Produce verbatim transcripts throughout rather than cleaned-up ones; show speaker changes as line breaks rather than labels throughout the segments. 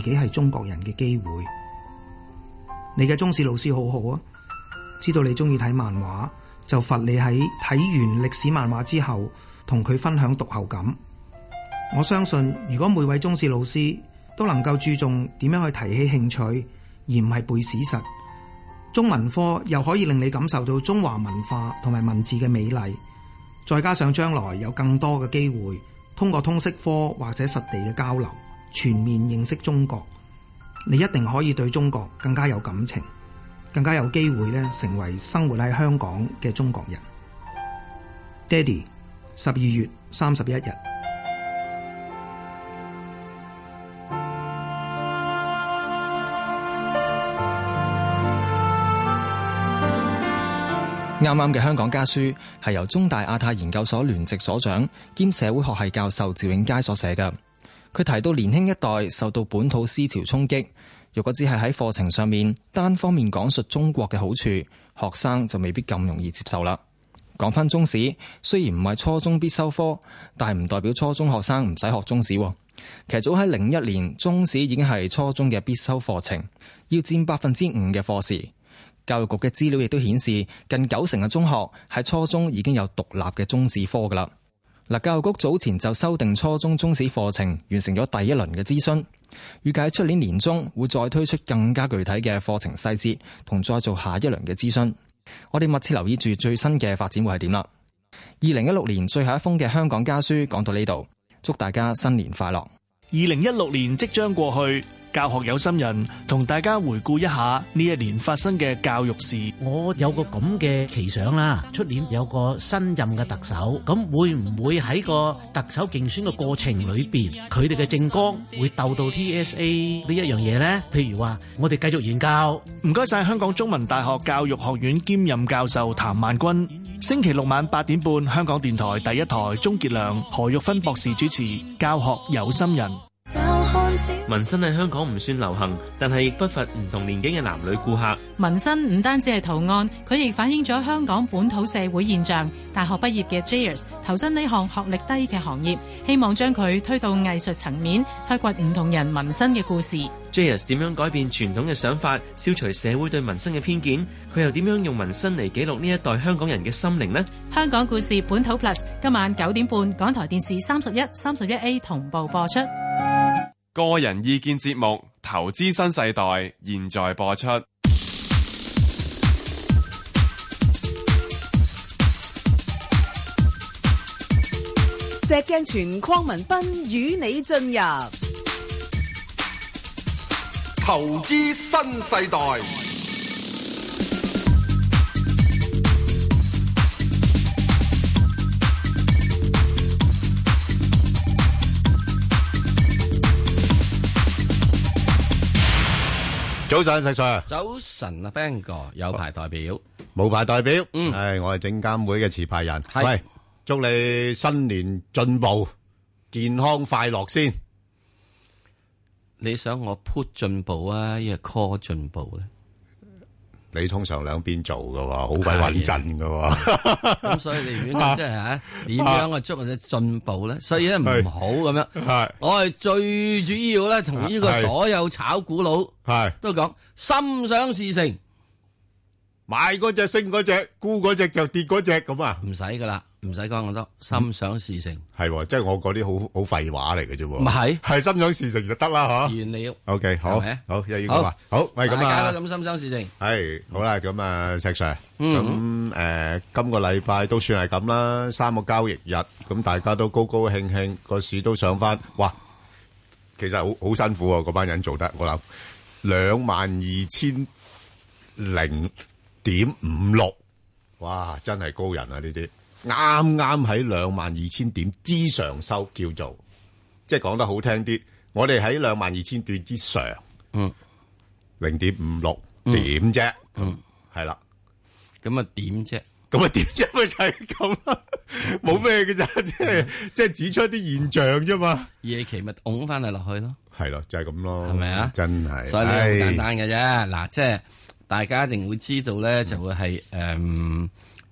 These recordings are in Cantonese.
己係中國人嘅機會。你嘅中史老師好好啊，知道你中意睇漫畫，就罰你喺睇完歷史漫畫之後同佢分享讀後感。我相信如果每位中史老師都能夠注重點樣去提起興趣，而唔係背史實，中文科又可以令你感受到中華文化同埋文字嘅美麗，再加上將來有更多嘅機會通過通識科或者實地嘅交流，全面認識中國，你一定可以對中國更加有感情，更加有機會咧成為生活喺香港嘅中國人。爹哋，十二月三十一日。
啱啱嘅香港家書係由中大亞太研究所聯席所長兼社會學系教授趙永佳所寫嘅。佢提到年輕一代受到本土思潮衝擊，如果只係喺課程上面單方面講述中國嘅好處，學生就未必咁容易接受啦。講翻中史，雖然唔係初中必修科，但係唔代表初中學生唔使學中史。其實早喺零一年，中史已經係初中嘅必修課程，要佔百分之五嘅課時。教育局嘅資料亦都顯示，近九成嘅中學喺初中已經有獨立嘅中史科噶啦。嗱，教育局早前就修訂初中中史課程，完成咗第一輪嘅諮詢，預計出年年中會再推出更加具體嘅課程細節，同再做下一輪嘅諮詢。我哋密切留意住最新嘅發展會係點啦。二零一六年最後一封嘅香港家書講到呢度，祝大家新年快樂。
二零一六年即將過去，教學有心人同大家回顧一下呢一年發生嘅教育事。
我有個咁嘅奇想啦，出年有個新任嘅特首，咁會唔會喺個特首競選嘅過程裏邊，佢哋嘅政綱會鬥到 T S A 呢一樣嘢呢？譬如話我哋繼續研究。
唔該晒香港中文大學教育學院兼任教授譚萬君。星期六晚八點半，香港電台第一台，鍾傑良、何玉芬博士主持《教學有心人》。
紋身喺香港唔算流行，但係亦不乏唔同年紀嘅男女顧客。
紋身唔單止係圖案，佢亦反映咗香港本土社會現象。大學畢業嘅 Jayers 投身呢項學歷低嘅行業，希望將佢推到藝術層面，發掘唔同人紋身嘅故事。
Jayers 點樣改變傳統嘅想法，消除社會對紋身嘅偏見？佢又點樣用紋身嚟記錄呢一代香港人嘅心靈呢？
香港故事本土 Plus 今晚九點半，港台電視三十一、三十一 A 同步播出。
個人意見節目《投資新世代》現在播出。
石鏡泉、鄺民彬與你進入《
投資新世代》。
早晨，石 Sir。
早晨啊 ，Ben 哥有牌代表，
冇牌代表。
嗯，
係我係證監會嘅持牌人。喂，祝你新年進步、健康快樂先。
你想我 put 進步啊，抑係 call 進步咧？
你通常兩邊做噶，好鬼穩陣噶。
咁所以你如果即係吓點樣啊祝你進步咧？所以咧唔好咁樣。係我係最主要咧，同呢個所有炒股佬係都講心想事成，
買嗰隻升嗰隻，沽嗰隻就跌嗰隻咁啊！
唔使噶啦，唔使講咁多，心想事成
係，即係我嗰啲好好廢話嚟嘅啫。
唔係，
係心想事成就得啦，吓。
完了。
O K，好，好，又要咁話，好，喂，咁啊，
大家都咁心想事成。
係好啦，咁啊，石 Sir，咁誒，今個禮拜都算係咁啦，三個交易日，咁大家都高高興興，個市都上翻，哇！其實好好辛苦啊，嗰班人做得，我諗兩萬二千零點五六，哇！真係高人啊！呢啲啱啱喺兩萬二千點之上收，叫做即係講得好聽啲，我哋喺兩萬二千點之上，嗯，零點五六點啫，嗯，係啦，
咁啊點啫？
咁啊點啫？咪就係咁啦，冇咩嘅咋，即係即係指出啲現象啫嘛。
夜期咪拱翻嚟落去咯，
係咯，就係咁咯，
係咪啊？
真係，
所以呢個好簡單嘅啫。嗱，即係大家一定會知道咧，就會係誒，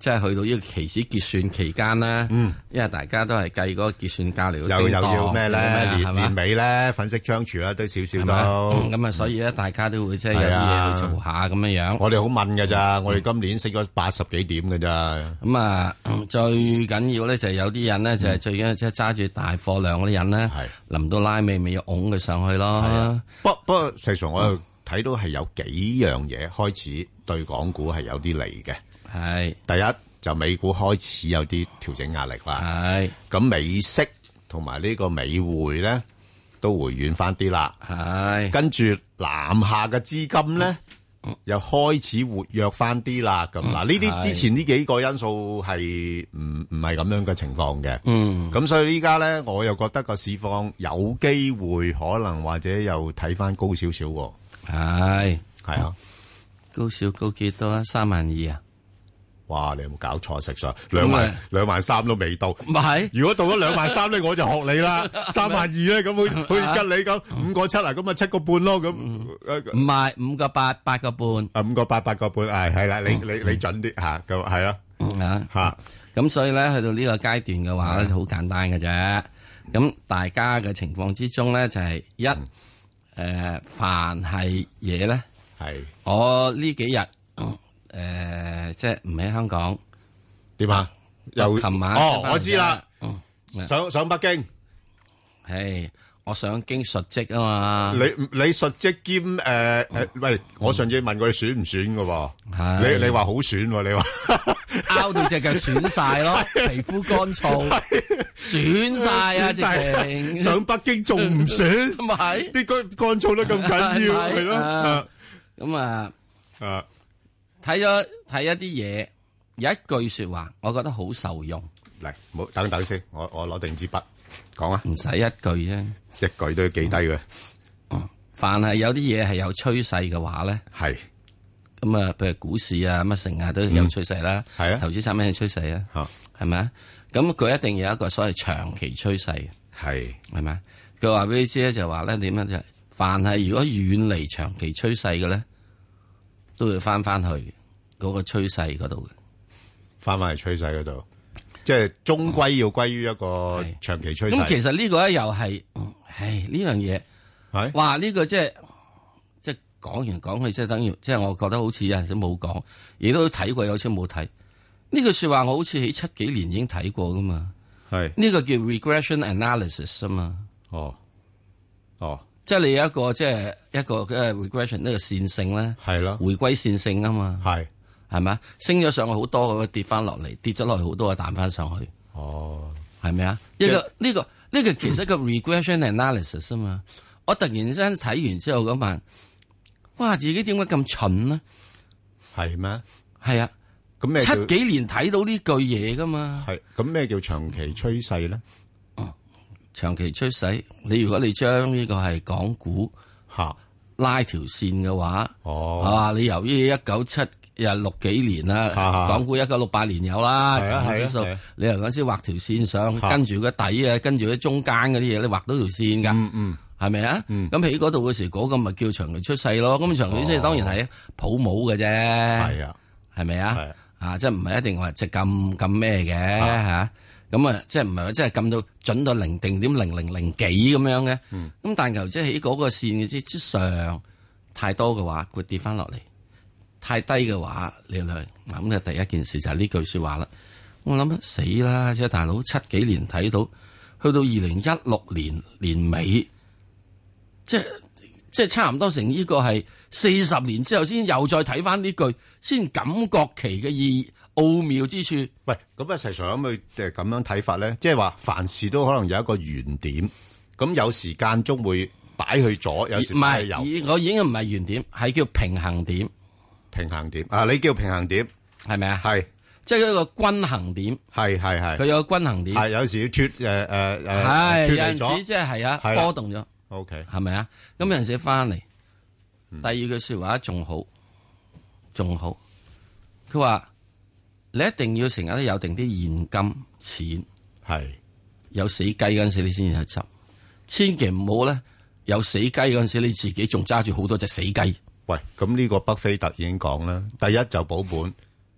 即係去到呢個期指結算期間咧，
嗯，
因為大家都係計嗰個結算價嚟，
又又要咩咧？年年尾咧，粉飾櫥窗啦，都少少都
咁啊，所以咧，大家都會即係有啲嘢去做下咁樣樣。
我哋好問㗎咋，我哋今年升咗八十幾點㗎咋。
咁啊，最緊要咧就係有啲人咧就係最緊要即係揸住大貨量嗰啲人咧，臨到拉尾咪要拱佢上去咯。
不不過，實際上我又睇到係有幾樣嘢開始對港股係有啲利嘅。
係
第一就美股開始有啲調整壓力啦。
係
咁美息同埋呢個美匯咧都回軟翻啲啦。
係
跟住南下嘅資金咧、嗯、又開始活躍翻啲啦。咁嗱，呢啲之前呢幾個因素係唔唔係咁樣嘅情況嘅。
嗯，
咁所以依家咧我又覺得個市況有機會可能或者又睇翻高少少。
係
係啊，
高少高幾多啊？三萬二啊！
哇！你有冇搞錯食咗兩萬兩萬三都未到，
唔係。
如果到咗兩萬三咧，我就學你啦。三萬二咧，咁好好似吉你咁五個七啊，咁啊七個半咯，咁
唔係五個八八個半
啊，五個八八個半，係係啦，你你你準啲吓，咁係啊
啊
吓，
咁所以咧去到呢個階段嘅話咧，就好簡單嘅啫。咁大家嘅情況之中咧，就係一誒，凡係嘢咧，
係
我呢幾日。誒、呃，即係唔喺香港
點啊？又
琴晚
哦，我知啦、
嗯，
上上北京，
係我上京述職啊嘛。
你你述職兼誒誒、呃嗯，喂，我上次問過你選唔選㗎喎？你你話好選喎？你話
拗到隻腳損晒咯，皮膚乾燥，損晒啊！直情
上北京仲唔選？
咪係
啲乾乾燥得咁緊要，係咯？
咁啊
啊！
睇咗睇一啲嘢，有一句說話，我覺得好受用。
嚟，唔好等等先，我我攞定支筆講啊。
唔使一句啫，
一句都要記低嘅。
嗯，凡係有啲嘢係有趨勢嘅話咧，
係
咁啊，譬如股市啊、乜成啊都有趨勢啦。係、嗯、啊，投資產品嘅趨勢啊，係咪啊？咁佢一定有一個所謂長期趨勢嘅，係係咪啊？佢話俾你知咧，就話咧點樣就係，凡係如果遠離長期趨勢嘅咧。都要翻翻去嗰個趨勢嗰度嘅，
翻翻去趨勢嗰度，即係終歸要歸於一個長期趨勢。咁、
嗯、其實呢個咧又係，唉呢樣嘢係，哇呢、這個即係即係講完講去，即係等於即係我覺得好似有陣時冇講，亦都睇過，有次冇睇。呢句說話我好似喺七幾年已經睇過噶嘛，係呢、這個叫 regression analysis 啊嘛。哦，哦。即係你有一個即係一個嘅 regression 呢個線性咧，係咯，回歸線性啊嘛，係係咪啊？升咗上去好多，咁跌翻落嚟，跌咗落去好多，彈翻上去。哦，係咪啊？一個呢個呢個其實個 regression analysis 啊嘛。我突然之間睇完之後咁問，哇！自己點解咁蠢呢？係咩？係啊。咁咩？七幾年睇到呢句嘢噶嘛？係。咁咩叫長期趨勢咧？長期趨勢，你如果你將呢個係港股吓拉條線嘅話，哦，啊，你由於一九七又六幾年啦，港股一九六八年有啦，指數，你由嗰陣時畫條線上，跟住個底啊，跟住啲中間嗰啲嘢，你畫到條線噶，嗯嗯，係咪啊？咁喺嗰度嘅時，嗰個咪叫長期趨勢咯。咁長期趨勢當然係泡沫嘅啫，係啊，係咪啊？啊，即係唔係一定話即係咁咁咩嘅吓。咁啊，即係唔係話即係撳到準到零定點零零零幾咁樣嘅，咁、嗯、但求即係喺嗰個線嘅之之上太多嘅話，會跌翻落嚟；太低嘅話，你嚟咁就第一件事就係呢句說話啦。我諗死啦，即係大佬七幾年睇到，去到二零一六年年尾，即係即係差唔多成呢個係四十年之後先又再睇翻呢句，先感覺其嘅意義。奧妙之處，
喂，咁啊，實際上咁佢誒咁樣睇法咧，即係話凡事都可能有一個原點，咁有時間中會擺去左，有時擺去右。唔係，
我已經唔係原點，係叫平衡點。
平衡點啊，你叫平衡點
係咪啊？
係，
即係一個均衡點。係係係，佢有個均衡點。係有時要脱誒誒誒，係有陣時即係係啊波動咗。O K，係咪啊？咁有陣時翻嚟，第二句說話仲好，仲好，佢話。你一定要成日都有定啲現金錢，係有死雞嗰陣時你先至去執，千祈唔好咧有死雞嗰陣時你自己仲揸住好多隻死雞。
喂，咁呢個巴菲特已經講啦，第一就保本，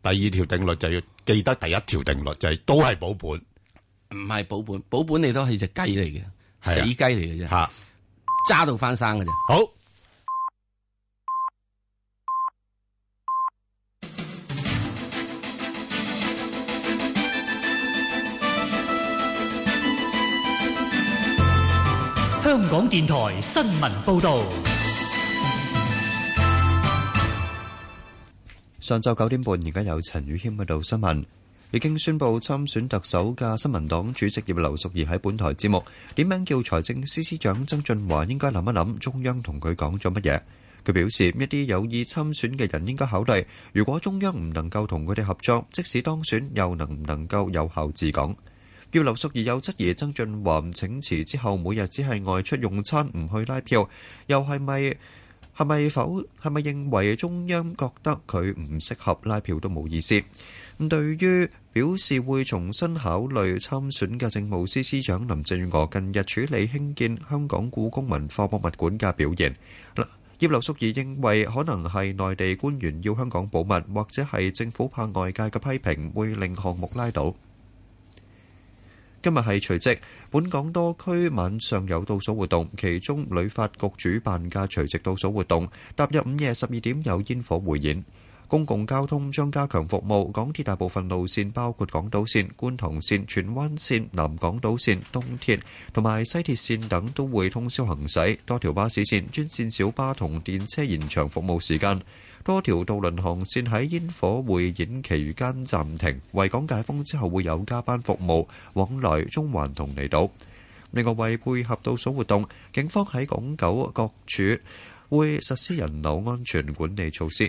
第二條定律就要記得第一條定律，就係都係保本。
唔係保本，保本你都係隻雞嚟嘅，死雞嚟嘅啫，
吓
揸到翻生嘅啫。
好，
香港電台新聞報道。
上晝九點半，而家有陳宇謙喺度新聞。已經宣布參選特首嘅新民黨主席葉劉淑儀喺本台節目點名叫財政司司長曾俊華應該諗一諗中央同佢講咗乜嘢。佢表示，一啲有意參選嘅人應該考慮，如果中央唔能夠同佢哋合作，即使當選又能唔能夠有效治港。葉劉淑儀有質疑曾俊華請辭之後每日只係外出用餐，唔去拉票，又係咪係咪否係咪認為中央覺得佢唔適合拉票都冇意思。咁對於表示會重新考慮參選嘅政務司司長林鄭月娥近日處理興建香港故宮文化博物館嘅表現，葉劉淑儀認為可能係內地官員要香港保密，或者係政府怕外界嘅批評會令項目拉倒。今日係除夕，本港多區晚上有倒數活動，其中旅發局主辦嘅除夕倒數活動踏入午夜十二點有煙火匯演。公共交通將加強服務，港鐵大部分路線包括港島線、觀塘線、荃灣線、南港島線、東鐵同埋西鐵線等都會通宵行駛，多條巴士線、專線小巴同電車延長服務時間，多條渡輪航線喺煙火匯演期間暫停，維港解封之後會有加班服務往來中環同離島。另外，為配合倒數活動，警方喺港九各處會實施人流安全管理措施。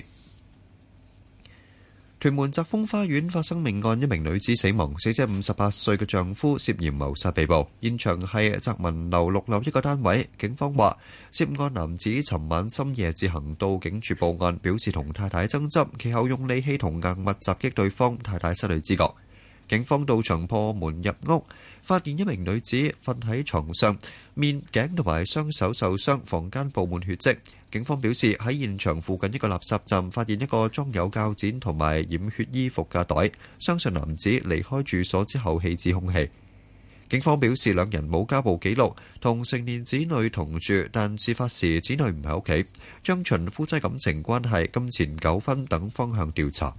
屯門澤豐花園發生命案，一名女子死亡，死者五十八歲嘅丈夫涉嫌謀殺被捕。現場係澤文樓六樓一個單位。警方話，涉案男子尋晚深夜自行到警署報案，表示同太太爭執，其後用利器同硬物襲擊對方，太太失去知覺。警方到場破門入屋，發現一名女子瞓喺床上，面頸同埋雙手受傷，房間布滿血跡。警方表示，喺現場附近一個垃圾站發現一個裝有鉸剪同埋染血衣服嘅袋，相信男子離開住所之後棄置兇器。警方表示，兩人冇家暴記錄，同成年子女同住，但事發時子女唔喺屋企，將循夫妻感情關係、金錢糾紛等方向調查。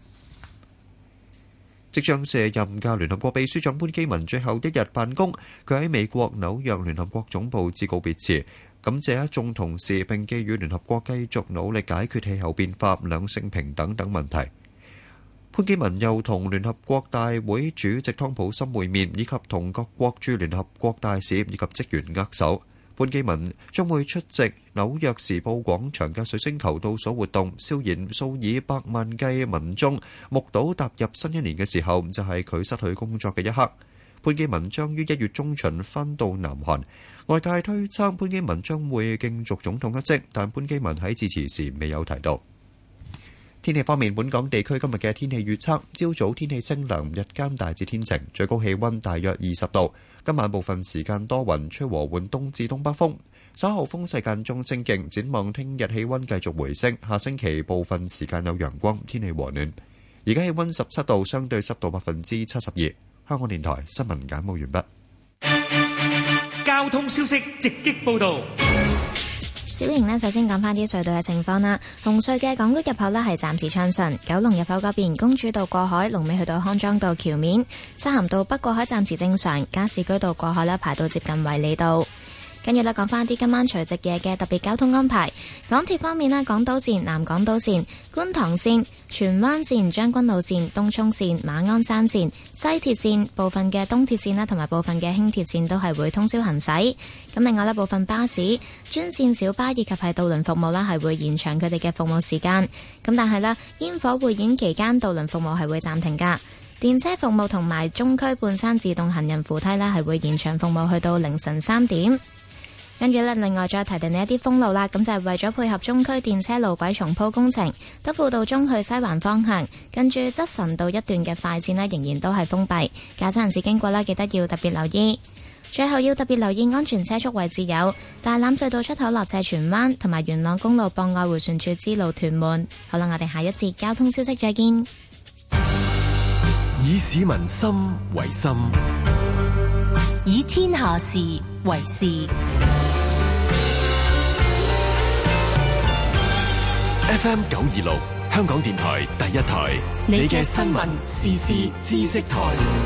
即將卸任嘅聯合國秘書長潘基文最後一日辦公，佢喺美國紐約聯合國總部致告別辭，感謝一眾同事，並寄予聯合國繼續努力解決氣候變化、兩性平等等問題。潘基文又同聯合國大會主席湯普森會面，以及同各國駐聯合國大使以及職員握手。潘基文將會出席紐約時報廣場嘅水晶球倒數活動，笑言數以百萬計民眾目睹踏入新一年嘅時候，就係佢失去工作嘅一刻。潘基文將於一月中旬返到南韓，外界推測潘基文將會競逐總統一職，但潘基文喺致辭時未有提到。天氣方面，本港地區今日嘅天氣預測：朝早天氣清涼，日間大致天晴，最高氣溫大約二十度。今晚部分時間多雲，吹和緩東至東北風，稍後風勢間中清勁。展望聽日氣溫繼續回升，下星期部分時間有陽光，天氣和暖。而家氣溫十七度，相對濕度百分之七十二。香港電台新聞簡報完畢。
交通消息直擊報道。
小瑩呢，首先講翻啲隧道嘅情況啦。紅隧嘅港島入口呢係暫時暢順，九龍入口嗰邊公主道過海，龍尾去到康莊道橋面，漆咸道北過海暫時正常，加士居道過海呢排到接近衛理道。跟住咧，講翻啲今晚除夕夜嘅特別交通安排。港鐵方面咧，港島線、南港島線、觀塘線、荃灣線、將軍澳線、東涌線、馬鞍山線、西鐵線、部分嘅東鐵線啦，同埋部分嘅輕鐵線都係會通宵行駛。咁另外咧，部分巴士、專線小巴以及係渡輪服務啦，係會延長佢哋嘅服務時間。咁但係咧，煙火匯演期間渡輪服務係會暫停噶。電車服務同埋中區半山自動行人扶梯啦，係會延長服務去到凌晨三點。跟住咧，另外再提定你一啲封路啦，咁就係為咗配合中區電車路軌重鋪工程，德輔道中去西環方向，跟住則臣道一段嘅快線呢，仍然都係封閉，駕駛人士經過啦，記得要特別留意。最後要特別留意安全車速位置有大欖隧道出口落斜荃灣，同埋元朗公路博愛迴旋處支路屯門。好啦，我哋下一節交通消息再見。
以市民心為心，
以天下事為事。
F M 九二六，香港電台第一台，你嘅新聞時事知識台。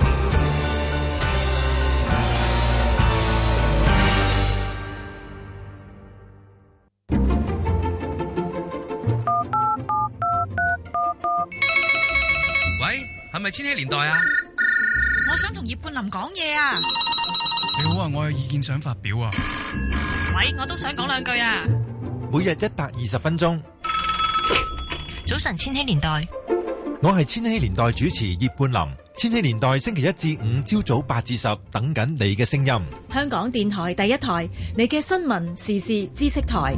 喂，係咪千禧年代啊？
我想同葉冠霖講嘢啊！
你好啊，我有意見想發表啊！
喂，我都想講兩句啊！
每日一百二十分鐘。
早晨，千禧年代，
我係千禧年代主持葉冠霖。千禧年代星期一至五朝早八至十，等緊你嘅聲音。
香港電台第一台，你嘅新聞時事知識台。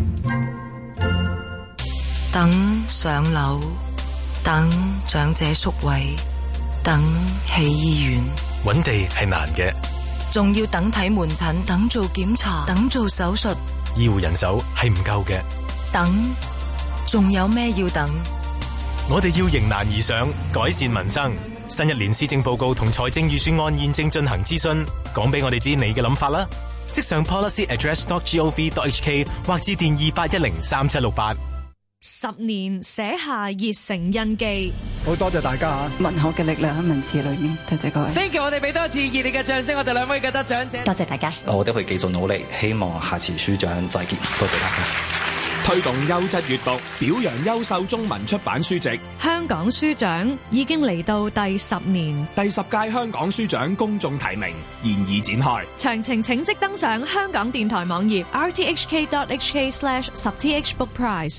等上樓，等長者宿位，等起醫院，
揾地係難嘅，
仲要等睇門診，等做檢查，等做手術，
醫護人手係唔夠嘅。
等，仲有咩要等？
我哋要迎難而上，改善民生。新一年施政報告同財政預算案現正進行諮詢，講俾我哋知你嘅諗法啦。即上 policy address dot gov dot hk 或致電二八一零三七六八。
十年寫下熱誠印記，
好多謝大家啊！
文學嘅力量喺文字裏面，多謝各位。
Thank you， 我哋俾多次熱烈嘅掌聲，我哋兩位嘅得獎者，
多謝大家。
我哋會繼續努力，希望下次書獎再見。多謝大家。
推動優質閱讀，表揚優秀中文出版書籍。
香港書獎已經嚟到第十年，
第十屆香港書獎公眾提名現已展開。
詳情請即登上香港電台網頁 r t h k dot h k slash 十 t h book prize。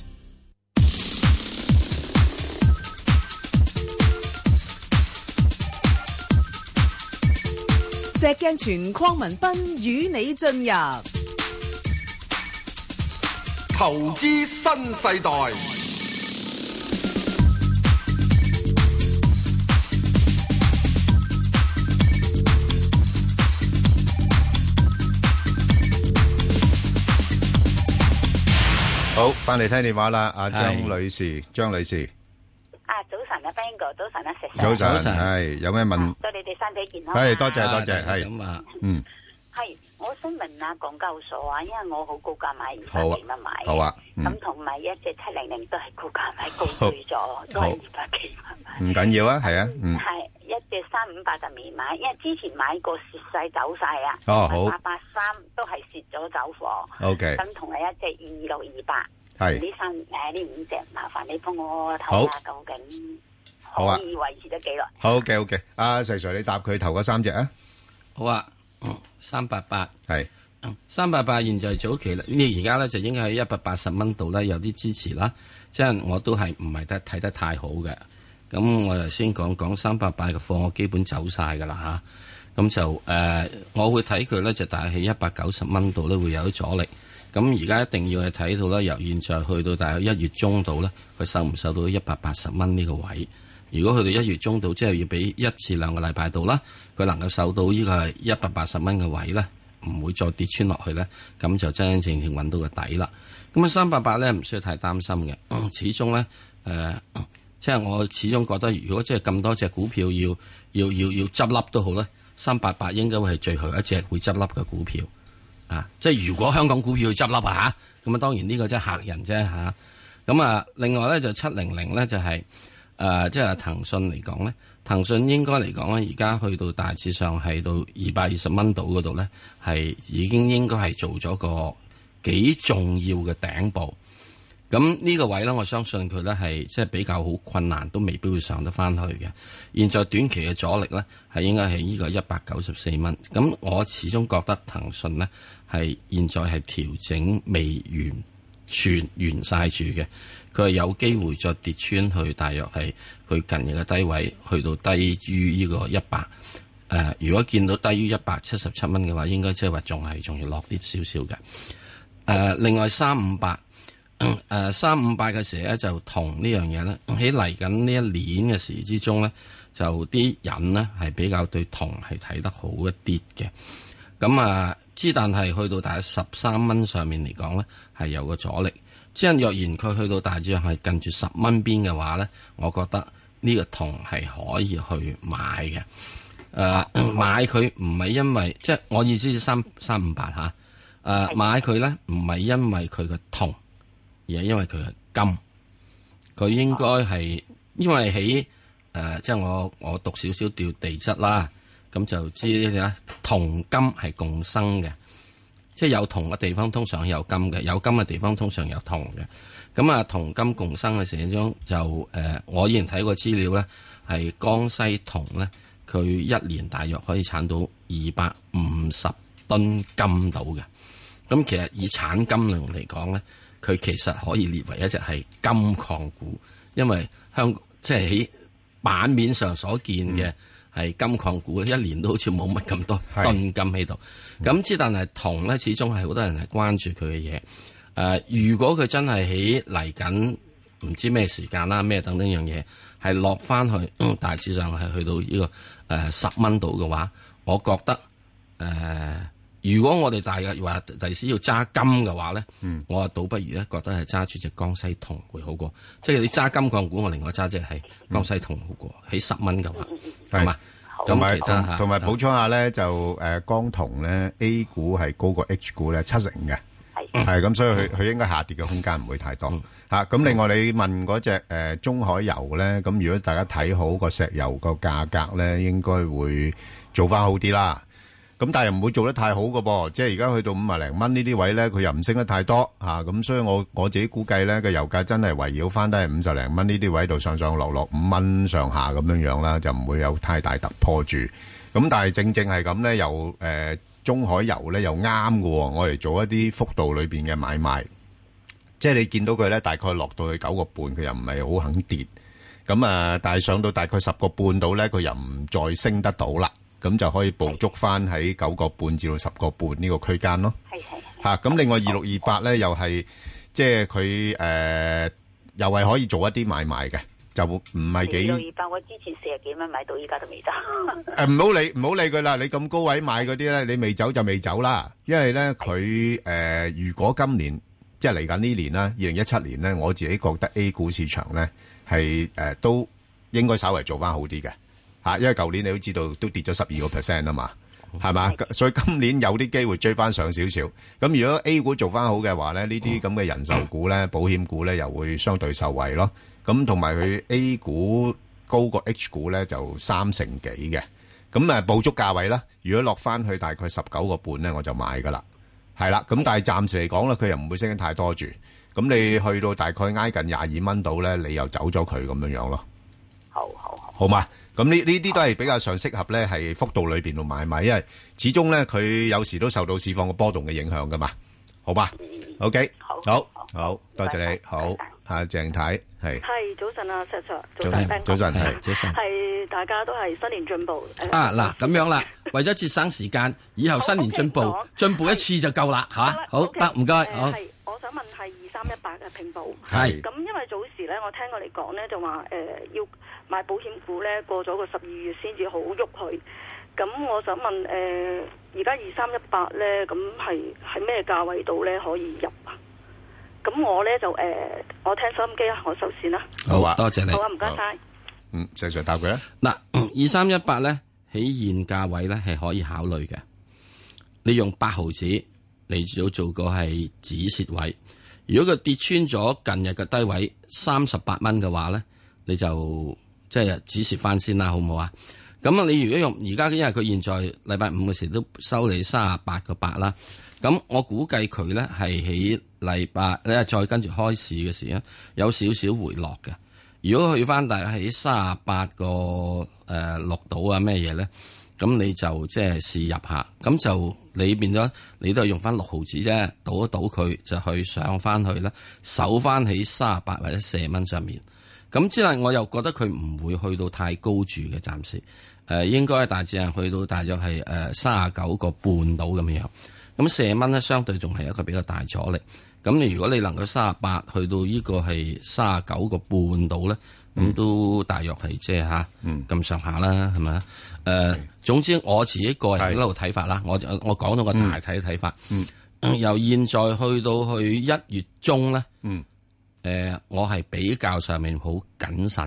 石鏡泉鄺民彬與你進入
投資新世代。
好，翻嚟聽電話啦，阿張女士，張女士。
啊，早晨啊 ，Bang 哥，早晨啊，石
Sir。早晨，係有咩問？
對你哋身體健康。
係，多謝多謝，係咁啊，嗯。
係，我想問下港交所啊，因為我好高價買二百幾蚊買嘅，
好啊，
咁同埋一隻七零零都係高價買高追咗，都係二百幾蚊買。
唔緊要啊，係啊，嗯。
係一隻三五八就未買，因為之前買過蝕晒走晒啊。
哦，好。
八八三都係蝕咗走貨。
O K。
咁同埋一隻二六二八。
係。
呢三誒呢五隻，麻煩你幫我睇下究竟可以維持得幾耐？
好嘅，好嘅。阿石 Sir，你答佢頭嗰三隻啊？
好啊。三八八
係
三八八，現在早期啦，呢而家咧就應該喺一百八十蚊度咧有啲支持啦，即係我都係唔係得睇得太好嘅。咁我就先講講三八八嘅貨，我基本走晒噶啦吓，咁就誒、呃，我會睇佢咧就大概喺一百九十蚊度咧會有啲阻力。咁而家一定要係睇到咧，由現在去到大概一月中度咧，佢受唔受到一百八十蚊呢個位？如果去到一月中度，即係要俾一至兩個禮拜度啦，佢能夠受到呢個一百八十蚊嘅位咧，唔會再跌穿落去咧，咁就真真正正揾到個底啦。咁啊，三八八咧唔需要太擔心嘅、嗯，始終咧誒、呃，即係我始終覺得，如果即係咁多隻股票要要要要執笠都好咧，三八八應該會係最後一隻會執笠嘅股票啊！即係如果香港股票要執笠啊嚇，咁啊當然呢個即係嚇人啫嚇。咁啊，另外咧就七零零咧就係、是。誒、呃，即係騰訊嚟講咧，騰訊應該嚟講咧，而家去到大致上係到二百二十蚊度嗰度咧，係已經應該係做咗個幾重要嘅頂部。咁呢個位咧，我相信佢咧係即係比較好困難，都未必會上得翻去嘅。現在短期嘅阻力咧，係應該係呢個一百九十四蚊。咁我始終覺得騰訊咧係現在係調整未完全完晒住嘅。佢係有機會再跌穿去，大約係佢近日嘅低位，去到低於呢個一百。誒，如果見到低於一百七十七蚊嘅話，應該即係話仲係仲要落啲少少嘅。誒、呃，另外三五八，誒三五八嘅時咧就同呢樣嘢咧，喺嚟緊呢一年嘅時之中咧，就啲人咧係比較對銅係睇得好一啲嘅。咁啊，之但係去到大約十三蚊上面嚟講咧，係有個阻力。即係若然佢去到大致係近住十蚊邊嘅話咧，我覺得呢個銅係可以去買嘅。誒、呃，買佢唔係因為即係我意思三三五八吓。誒、呃，買佢咧唔係因為佢嘅銅，而係因為佢嘅金。佢應該係因為喺誒、呃，即係我我讀少少掉地質啦，咁就知呢啲啦。銅金係共生嘅，即係有銅嘅地方通常有金嘅，有金嘅地方通常有銅嘅。咁啊，銅金共生嘅時鐘就誒、呃，我以前睇過資料咧，係江西銅咧，佢一年大約可以產到二百五十噸金到嘅。咁其實以產金量嚟講咧，佢其實可以列為一隻係金礦股，因為香港即係喺版面上所見嘅係金礦股，一年都好似冇乜咁多噸金喺度。咁之但係銅咧，始終係好多人係關注佢嘅嘢。誒、呃，如果佢真係喺嚟緊唔知咩時間啦，咩等等樣嘢係落翻去，嗯、大致上係去到呢、這個誒十蚊度嘅話，我覺得誒。呃如果我哋大約話第時要揸金嘅話咧，嗯、我啊倒不如咧覺得係揸住隻江西銅會好過。即係你揸金礦股，我另外揸隻係江西銅好過。喺十蚊嘅話，係嘛？
同埋同埋補充下咧，就誒江銅咧 A 股係高過 H 股咧七成嘅，係咁，所以佢佢應該下跌嘅空間唔會太多嚇。咁、嗯、另外你問嗰隻誒中海油咧，咁如果大家睇好個石油個價格咧，應該會做翻好啲啦。咁但係又唔會做得太好嘅噃，即係而家去到五啊零蚊呢啲位咧，佢又唔升得太多嚇，咁、啊、所以我我自己估計咧，個油價真係圍繞翻都係五十零蚊呢啲位度上上落落五蚊上下咁樣樣啦，就唔會有太大突破住。咁但係正正係咁咧，又誒、呃、中海油咧又啱嘅，我嚟做一啲幅度裏邊嘅買賣，即係你見到佢咧大概落到去九個半，佢又唔係好肯跌，咁啊，但係上到大概十個半度咧，佢又唔再升得到啦。咁就可以捕捉翻喺九個半至到十個半呢個區間咯。係係嚇，咁另外二六二八咧，又係即係佢誒，又係可以做一啲買賣嘅，就唔係幾。二六二八我之前四十幾蚊買到，依家都未走。誒唔好理唔好理佢啦，你咁高位買嗰啲咧，你未走就未走啦。因為咧佢誒，如果今年即係嚟緊呢年啦，二零一七年咧，我自己覺得 A 股市場咧係誒都應該稍微做翻好啲嘅。嚇，因為舊年你都知道都跌咗十二個 percent 啊嘛，係嘛？所以今年有啲機會追翻上少少。咁如果 A 股做翻好嘅話咧，呢啲咁嘅人壽股咧、保險股咧，又會相對受惠咯。咁同埋佢 A 股高過 H 股咧，就三成幾嘅。咁誒，捕捉價位啦。如果落翻去大概十九個半咧，我就買噶啦。係啦，咁但係暫時嚟講咧，佢又唔會升得太多住。咁你去到大概挨近廿二蚊度咧，你又走咗佢咁樣樣咯。好好好，好嘛。咁呢呢啲都係比較上適合咧，係幅度裏邊度買賣，因為始終咧佢有時都受到市況嘅波動嘅影響噶嘛，好吧 ？OK，好，好，好，多謝你，好，阿鄭太係。
係早晨啊，石 Sir，
早晨，早晨係，早晨
係，大家都係新年進步。
啊嗱，咁樣啦，為咗節省時間，以後新年進步，進步一次就夠啦吓。好得，唔該，好。
係，我想問係二三一八嘅平保。
係。
咁因為早時咧，我聽過你講咧，就話誒要。買保險股咧，過咗個十二月先至好喐佢。咁我想問誒，而家二三一八咧，咁係喺咩價位度咧可以入啊？咁我咧就誒、呃，我聽收音機啊，我收線啦。
好啊，多謝你。
好啊，唔該晒。
嗯，石 Sir 答佢啦。
嗱，二三一八咧喺現價位咧係可以考慮嘅。你用八毫子嚟做做個係止蝕位。如果佢跌穿咗近日嘅低位三十八蚊嘅話咧，你就即係止蝕翻先啦，好唔好啊？咁啊，你如果用而家，因為佢現在禮拜五嘅時都收你三十八個八啦。咁我估計佢咧係喺禮拜咧再跟住開市嘅時咧有少少回落嘅。如果去翻大概喺三十八個誒六度啊咩嘢咧，咁你就即係試入下。咁就你變咗你都係用翻六毫子啫，倒一倒佢就去上翻去啦，守翻喺三十八或者四十蚊上面。咁之後我又覺得佢唔會去到太高住嘅，暫時誒、呃、應該大致係去到大約係誒三十九個半到咁樣。咁四十蚊咧，相對仲係一個比較大阻力。咁你如果你能夠三十八去到呢個係三十九個半到咧，咁、嗯、都大約係即係吓咁上下啦，係咪啊？誒、呃，總之我自己個人一路睇法啦，我我講到個大體睇法、嗯嗯，由現在去到去一月中咧。嗯誒、呃，我係比較上面好謹慎嘅，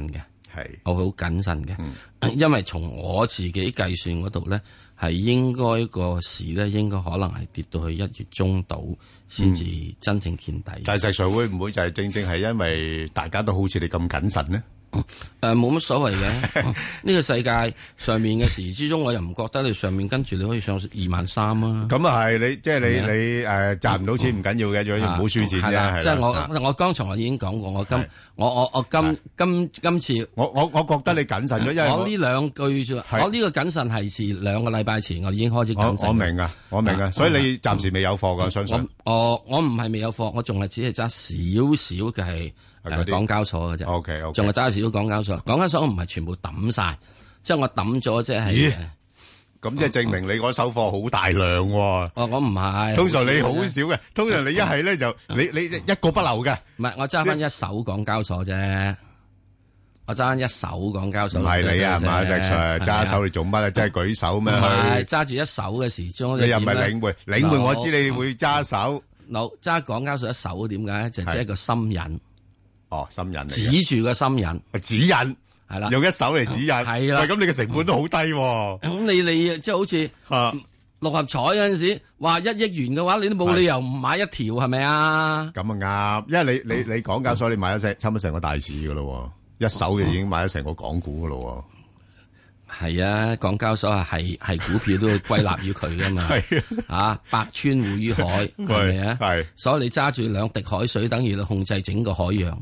係我好謹慎嘅，嗯、因為從我自己計算嗰度咧，係應該個市咧應該可能係跌到去一月中度先至真正見底。嗯、
但係實際會唔會就係正正係因為大家都好似你咁謹慎呢？
誒，冇乜所謂嘅。呢個世界上面嘅時之中，我又唔覺得你上面跟住你可以上二萬三啊。
咁啊係，你即係你你誒賺唔到錢唔緊要嘅，最緊要唔好輸錢啫。
即係我我剛才我已經講過，我今我我我今今今次
我我我覺得你謹慎咗，因為
我呢兩句啫。我呢個謹慎係自兩個禮拜前我已經開始謹慎。
我明啊，我明啊，所以你暫時未有貨噶，相信。
我我唔係未有貨，我仲係只係揸少少嘅係。誒，港交所嘅啫
，OK OK，
仲係揸少少港交所，港交所我唔係全部抌晒，即係我抌咗，即係。
咦？咁即係證明你嗰手貨好大量喎。
哦，我唔係。
通常你好少嘅，通常你一係咧就你你一個不留嘅。
唔係，我揸翻一手港交所啫，我揸翻一手港交所。
唔係你啊，係嘛石 Sir 揸手你做乜啊？即係舉手咩？
唔係揸住一手嘅時鐘。
你又唔係領匯？領匯我知你會揸手。
嗱，揸港交所一手點解？就即係一個心癮。
哦，心引嚟，
指住個心引，
指引係啦，用一手嚟指引，
係啦。
喂，咁你嘅成本都好低。
咁你你即係好似六合彩嗰陣時，話一億元嘅話，你都冇理由唔買一條，係咪啊？
咁啊啱，因為你你你港交所你買咗成差唔多成個大市噶咯，一手就已經買咗成個港股噶咯。
係啊，港交所係係股票都會歸納於佢噶嘛。係啊，百川匯於海，係咪啊？係，所以你揸住兩滴海水，等於你控制整個海洋。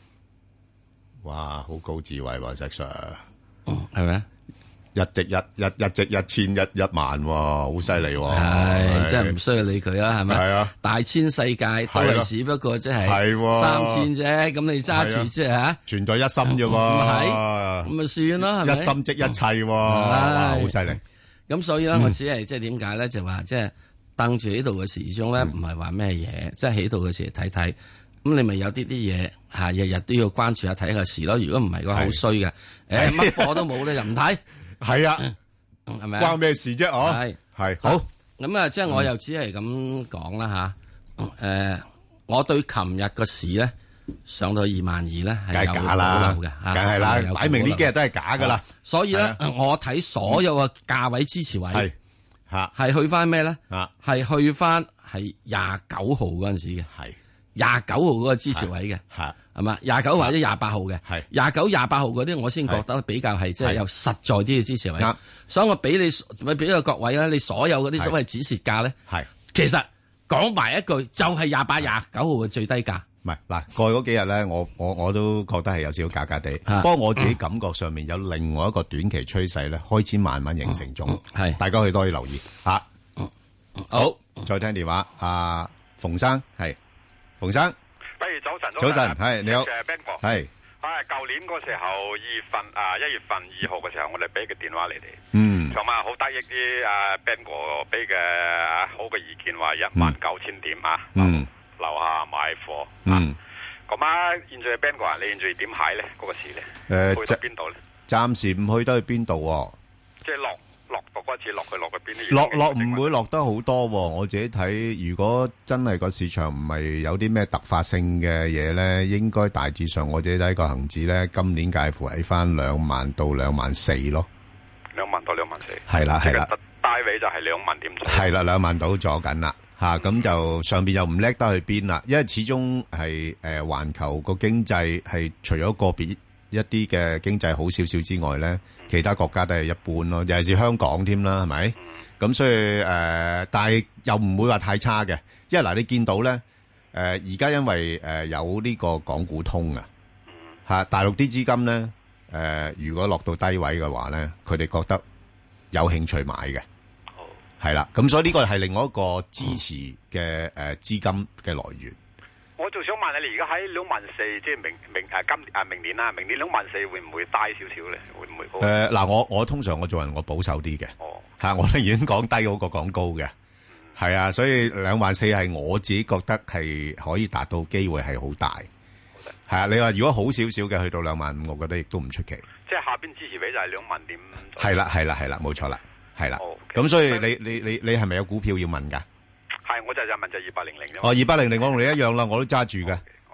哇，好高智慧喎，石 Sir，
係咪啊？
一值一，一一值一千一一萬，好犀利喎！
係，真係唔需要理佢啦，係咪？係啊，大千世界都係只不過即係三千啫，咁你揸住即係吓，
存在一心啫喎，
唔係，咁咪算咯，係咪？
一心即一切，哇，好犀利！
咁所以咧，我只係即係點解咧，就話即係瞪住喺度嘅時鐘咧，唔係話咩嘢，即係喺度嘅時睇睇。咁你咪有啲啲嘢吓，日日都要關注下睇下事咯。如果唔係嘅話，好衰嘅。誒，乜貨都冇咧，就唔睇。係
啊，
係咪
關咩事啫？哦，
係
係好。
咁啊，即係我又只係咁講啦吓。誒，我對琴日個市咧上到二萬二咧係有保留嘅，
梗係啦，擺明呢幾日都係假噶啦。
所以咧，我睇所有嘅價位支持位係
吓，
係去翻咩咧？係去翻係廿九號嗰陣時嘅。係。廿九號嗰個支持位嘅，係係嘛？廿九或者廿八號嘅，係廿九、廿八號嗰啲，我先覺得比較係即係有實在啲嘅支持位。所以我俾你，咪俾個各位咧，你所有嗰啲所謂止蝕價咧，係其實講埋一句，就係廿八、廿九號嘅最低價。
唔係嗱，過去嗰幾日咧，我我我都覺得係有少少假假地。不過我自己感覺上面有另外一個短期趨勢咧，開始慢慢形成中。係大家可以多啲留意吓。好，再聽電話，阿馮生係。馮生，
不如早晨，
早晨，係你好，係，
啊，舊年嗰時候二月份啊，一月份二號嘅時候，我哋俾個電話你哋，
嗯，
同埋好得益啲啊 Ben 哥俾嘅好嘅意見，話一萬九千點啊，
嗯，
樓下買貨，
嗯，
咁啊，現在 Ben 哥啊，你現在點睇咧？嗰個市咧，去到邊度咧？
暫時唔去得去邊度？
即係落。落到嗰次落去落去邊？
落落唔會落得好多，我自己睇，如果真係個市場唔係有啲咩突發性嘅嘢咧，應該大致上我自己睇個恒指咧，今年介乎喺翻兩萬到兩萬四咯。
兩萬到兩萬四。係
啦係啦。
低位就係兩萬點。
係啦，兩萬到咗緊啦，吓咁就上邊又唔叻得去邊啦，因為始終係誒環球個經濟係除咗個別一啲嘅經濟好少少之外咧。其他國家都係一般咯，尤其是香港添啦，係咪？咁、嗯、所以誒、呃，但係又唔會話太差嘅，因為嗱、呃，你見到咧，誒而家因為誒、呃、有呢個港股通啊，嚇、嗯、大陸啲資金咧，誒、呃、如果落到低位嘅話咧，佢哋覺得有興趣買嘅，係啦、哦，咁所以呢個係另外一個支持嘅誒資金嘅來源。
我就想問你，你而家喺兩萬四，即係明明誒今誒明年啦，明年兩萬四會唔會低少少咧？會唔會高？
誒嗱，我我通常我做人我保守啲嘅，嚇我都已經講低好過講高嘅，係啊，所以兩萬四係我自己覺得係可以達到機會係好大，係啊。你話如果好少少嘅去到兩萬五，我覺得亦都唔出奇。
即係下邊支持位就係兩萬點。
係啦，係啦，係啦，冇錯啦，係啦。咁所以你你你你係咪有股票要問㗎？
係，我就就問就二八零零啫。
哦，二八零零我同你一樣啦，我都揸住嘅。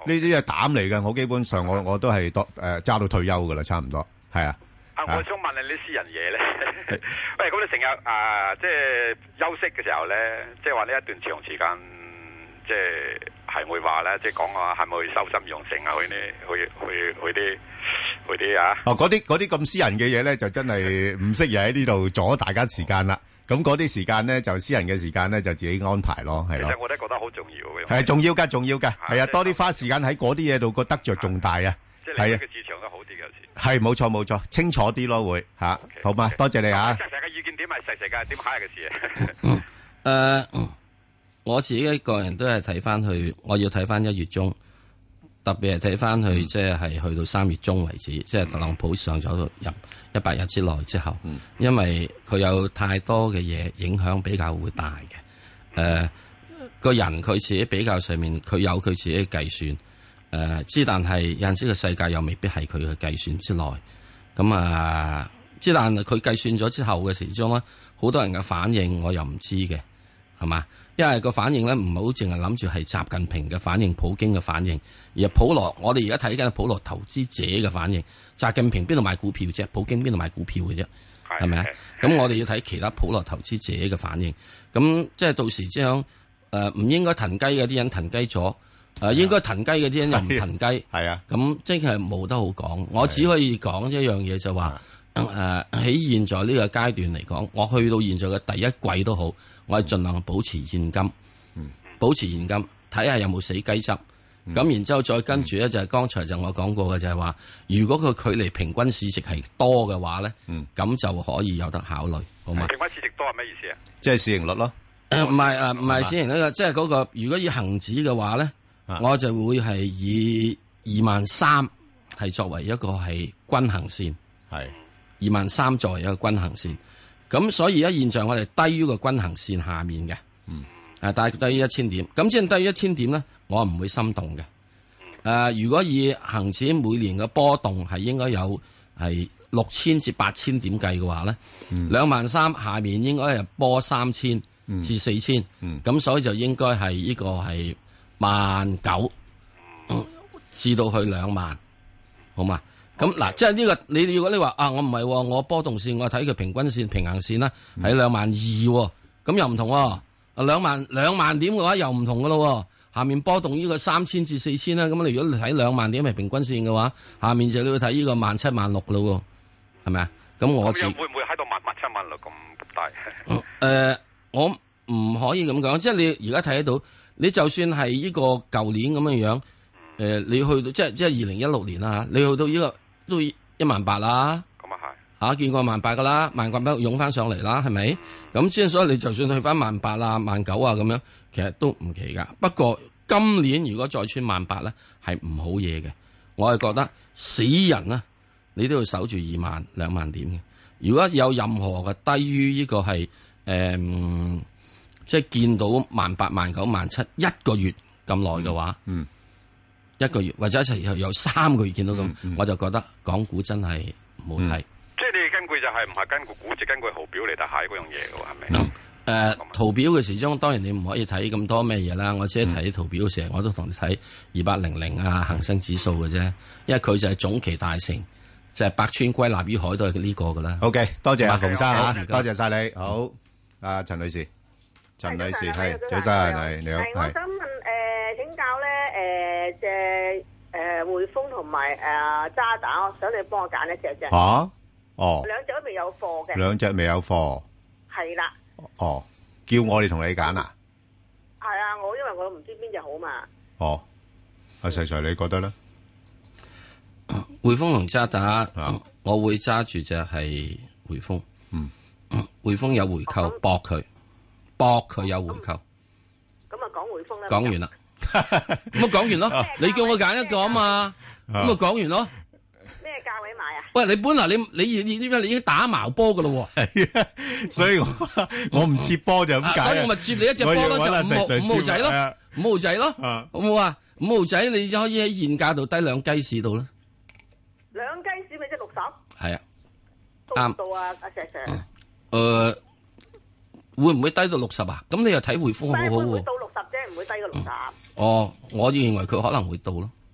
呢啲係膽嚟嘅，我基本上我我都係多誒揸到退休噶啦，差唔多係啊。
啊，我想問你啲私人嘢咧。喂，咁你成日啊，即係休息嘅時候咧，即係話呢一段長時間，即係係會話咧，即係講話係咪去修心養性啊？去呢，去去去啲去啲啊？
哦，嗰啲嗰啲咁私人嘅嘢咧，就真係唔適宜喺呢度阻大家時間啦。咁嗰啲時間咧，就私人嘅時間咧，就自己安排咯，係咯。
其實我都覺得好重要嘅。
係重要噶，重要噶，係啊，多啲花時間喺嗰啲嘢度，個得着重大啊。
即係你嘅市場都好啲嘅時。
係冇錯冇錯，清楚啲咯會吓，好嘛？多謝你啊。
石 Sir 嘅意見點係石 Sir 嘅點睇嘅事
啊？誒，我自己一個人都係睇翻去，我要睇翻一月中，特別係睇翻去，即係係去到三月中為止，即係特朗普上咗入一百日之內之後，因為佢有太多嘅嘢影響比較會大嘅。誒，個人佢自己比較上面，佢有佢自己嘅計算。誒，之、呃、但係有陣時個世界又未必係佢嘅計算之內，咁啊，之但係佢計算咗之後嘅時鐘咧，好多人嘅反應我又唔知嘅，係嘛？因為個反應咧唔好淨係諗住係習近平嘅反應、普京嘅反應，而係普羅，我哋而家睇緊普羅投資者嘅反應。習近平邊度買股票啫？普京邊度買股票嘅啫？係咪啊？咁我哋要睇其他普羅投資者嘅反應。咁即係到時即係誒唔應該騰雞嘅啲人騰雞咗。誒，應該騰雞嘅啲人又唔騰雞，係啊，咁即係冇得好講。我只可以講一樣嘢就話，誒喺現在呢個階段嚟講，我去到現在嘅第一季都好，我係盡量保持現金，保持現金，睇下有冇死雞汁。咁然之後再跟住咧就係剛才就我講過嘅就係話，如果佢距離平均市值係多嘅話咧，咁就可以有得考慮，好嘛？
平均市值多係咩意思啊？
即係市盈率咯。
誒唔係誒唔係市盈率嘅，即係嗰個如果以恒指嘅話咧。我就會係以二萬三係作為一個係均衡線，係二萬三作為一個均衡線。咁所以而家現在我哋低於個均衡線下面嘅，嗯，誒大概低於一千點。咁即係低於一千點咧，我唔會心動嘅。誒、呃，如果以恒指每年嘅波動係應該有係六千至八千點計嘅話咧，兩萬三下面應該係波三千至四千，嗯，咁所以就應該係呢個係。萬九至到去兩萬，好嘛？咁嗱，即係呢個你如果你話啊，我唔係，我波動線我睇佢平均線、平衡線啦，喺兩萬二，咁又唔同。啊，兩萬兩萬點嘅話又唔同噶咯。下面波動呢個三千至四千啦，咁你如果你睇兩萬點係平均線嘅話，下面就你要睇呢個萬七萬六噶咯，係咪啊？咁我自
會唔會喺度萬萬七萬六咁大？
誒、呃，我唔可以咁講，即係你而家睇得到。你就算係呢個舊年咁樣樣，誒、呃，你去到即係即係二零一六年啦，你去到呢、這個都一萬八啦，咁啊係，吓見過萬八噶啦，萬八都湧翻上嚟啦，係咪？咁之所以你就算去翻萬八啊、萬九啊咁樣，其實都唔奇噶。不過今年如果再穿萬八咧，係唔好嘢嘅。我係覺得死人啊，你都要守住二萬兩萬點嘅。如果有任何嘅低於呢個係誒。嗯即係見到萬八、萬九、萬七一個月咁耐嘅話，嗯，一個月或者一齊有三個月見到咁，嗯嗯、我就覺得港股真係唔好睇。
即係你根據就係唔係根據估值，根據圖表嚟睇下嗰樣嘢嘅喎，係咪？誒、
呃，圖表嘅時鐘當然你唔可以睇咁多咩嘢啦。我只係睇圖表嘅時候，我都同你睇二八零零啊恒生指數嘅啫，因為佢就係總期大成，就係、是、百川歸納於海都係呢個噶啦。
OK， 多謝阿馮生吓，多謝晒你。好，阿陳女士。陳女士係早晨，係你好。
係我想問誒，請教咧誒，隻誒匯豐同埋誒渣打，我想你幫我揀一隻啫。
吓哦，
兩隻都未有貨嘅。
兩隻未有貨。係啦。哦，叫我哋同你揀啊？
係啊，我因為我唔知邊隻好嘛。
哦，阿細細你覺得咧？
匯豐同渣打，我會揸住隻係匯豐。嗯，匯豐有回購，搏佢。博佢有回購，咁
啊講匯豐啦。
講完啦，咁啊講完咯。你叫我揀一個啊嘛，咁啊講完咯。
咩價位買啊？
喂，你本來你你你點解你已經打矛波噶咯？
所以我我唔接波就咁解。
所以我咪接你一隻波咯，就五號五號仔咯，五號仔咯，好唔好啊？五號仔你就可以喺現價度低兩雞市度啦。
兩雞市咪即係六十？
係啊，
啱到啊，阿石 Sir。
誒。會唔會低到六十啊？咁你又睇匯豐好好喎。
會到六十啫，唔會低過六十。
哦，我認為佢可能會到咯。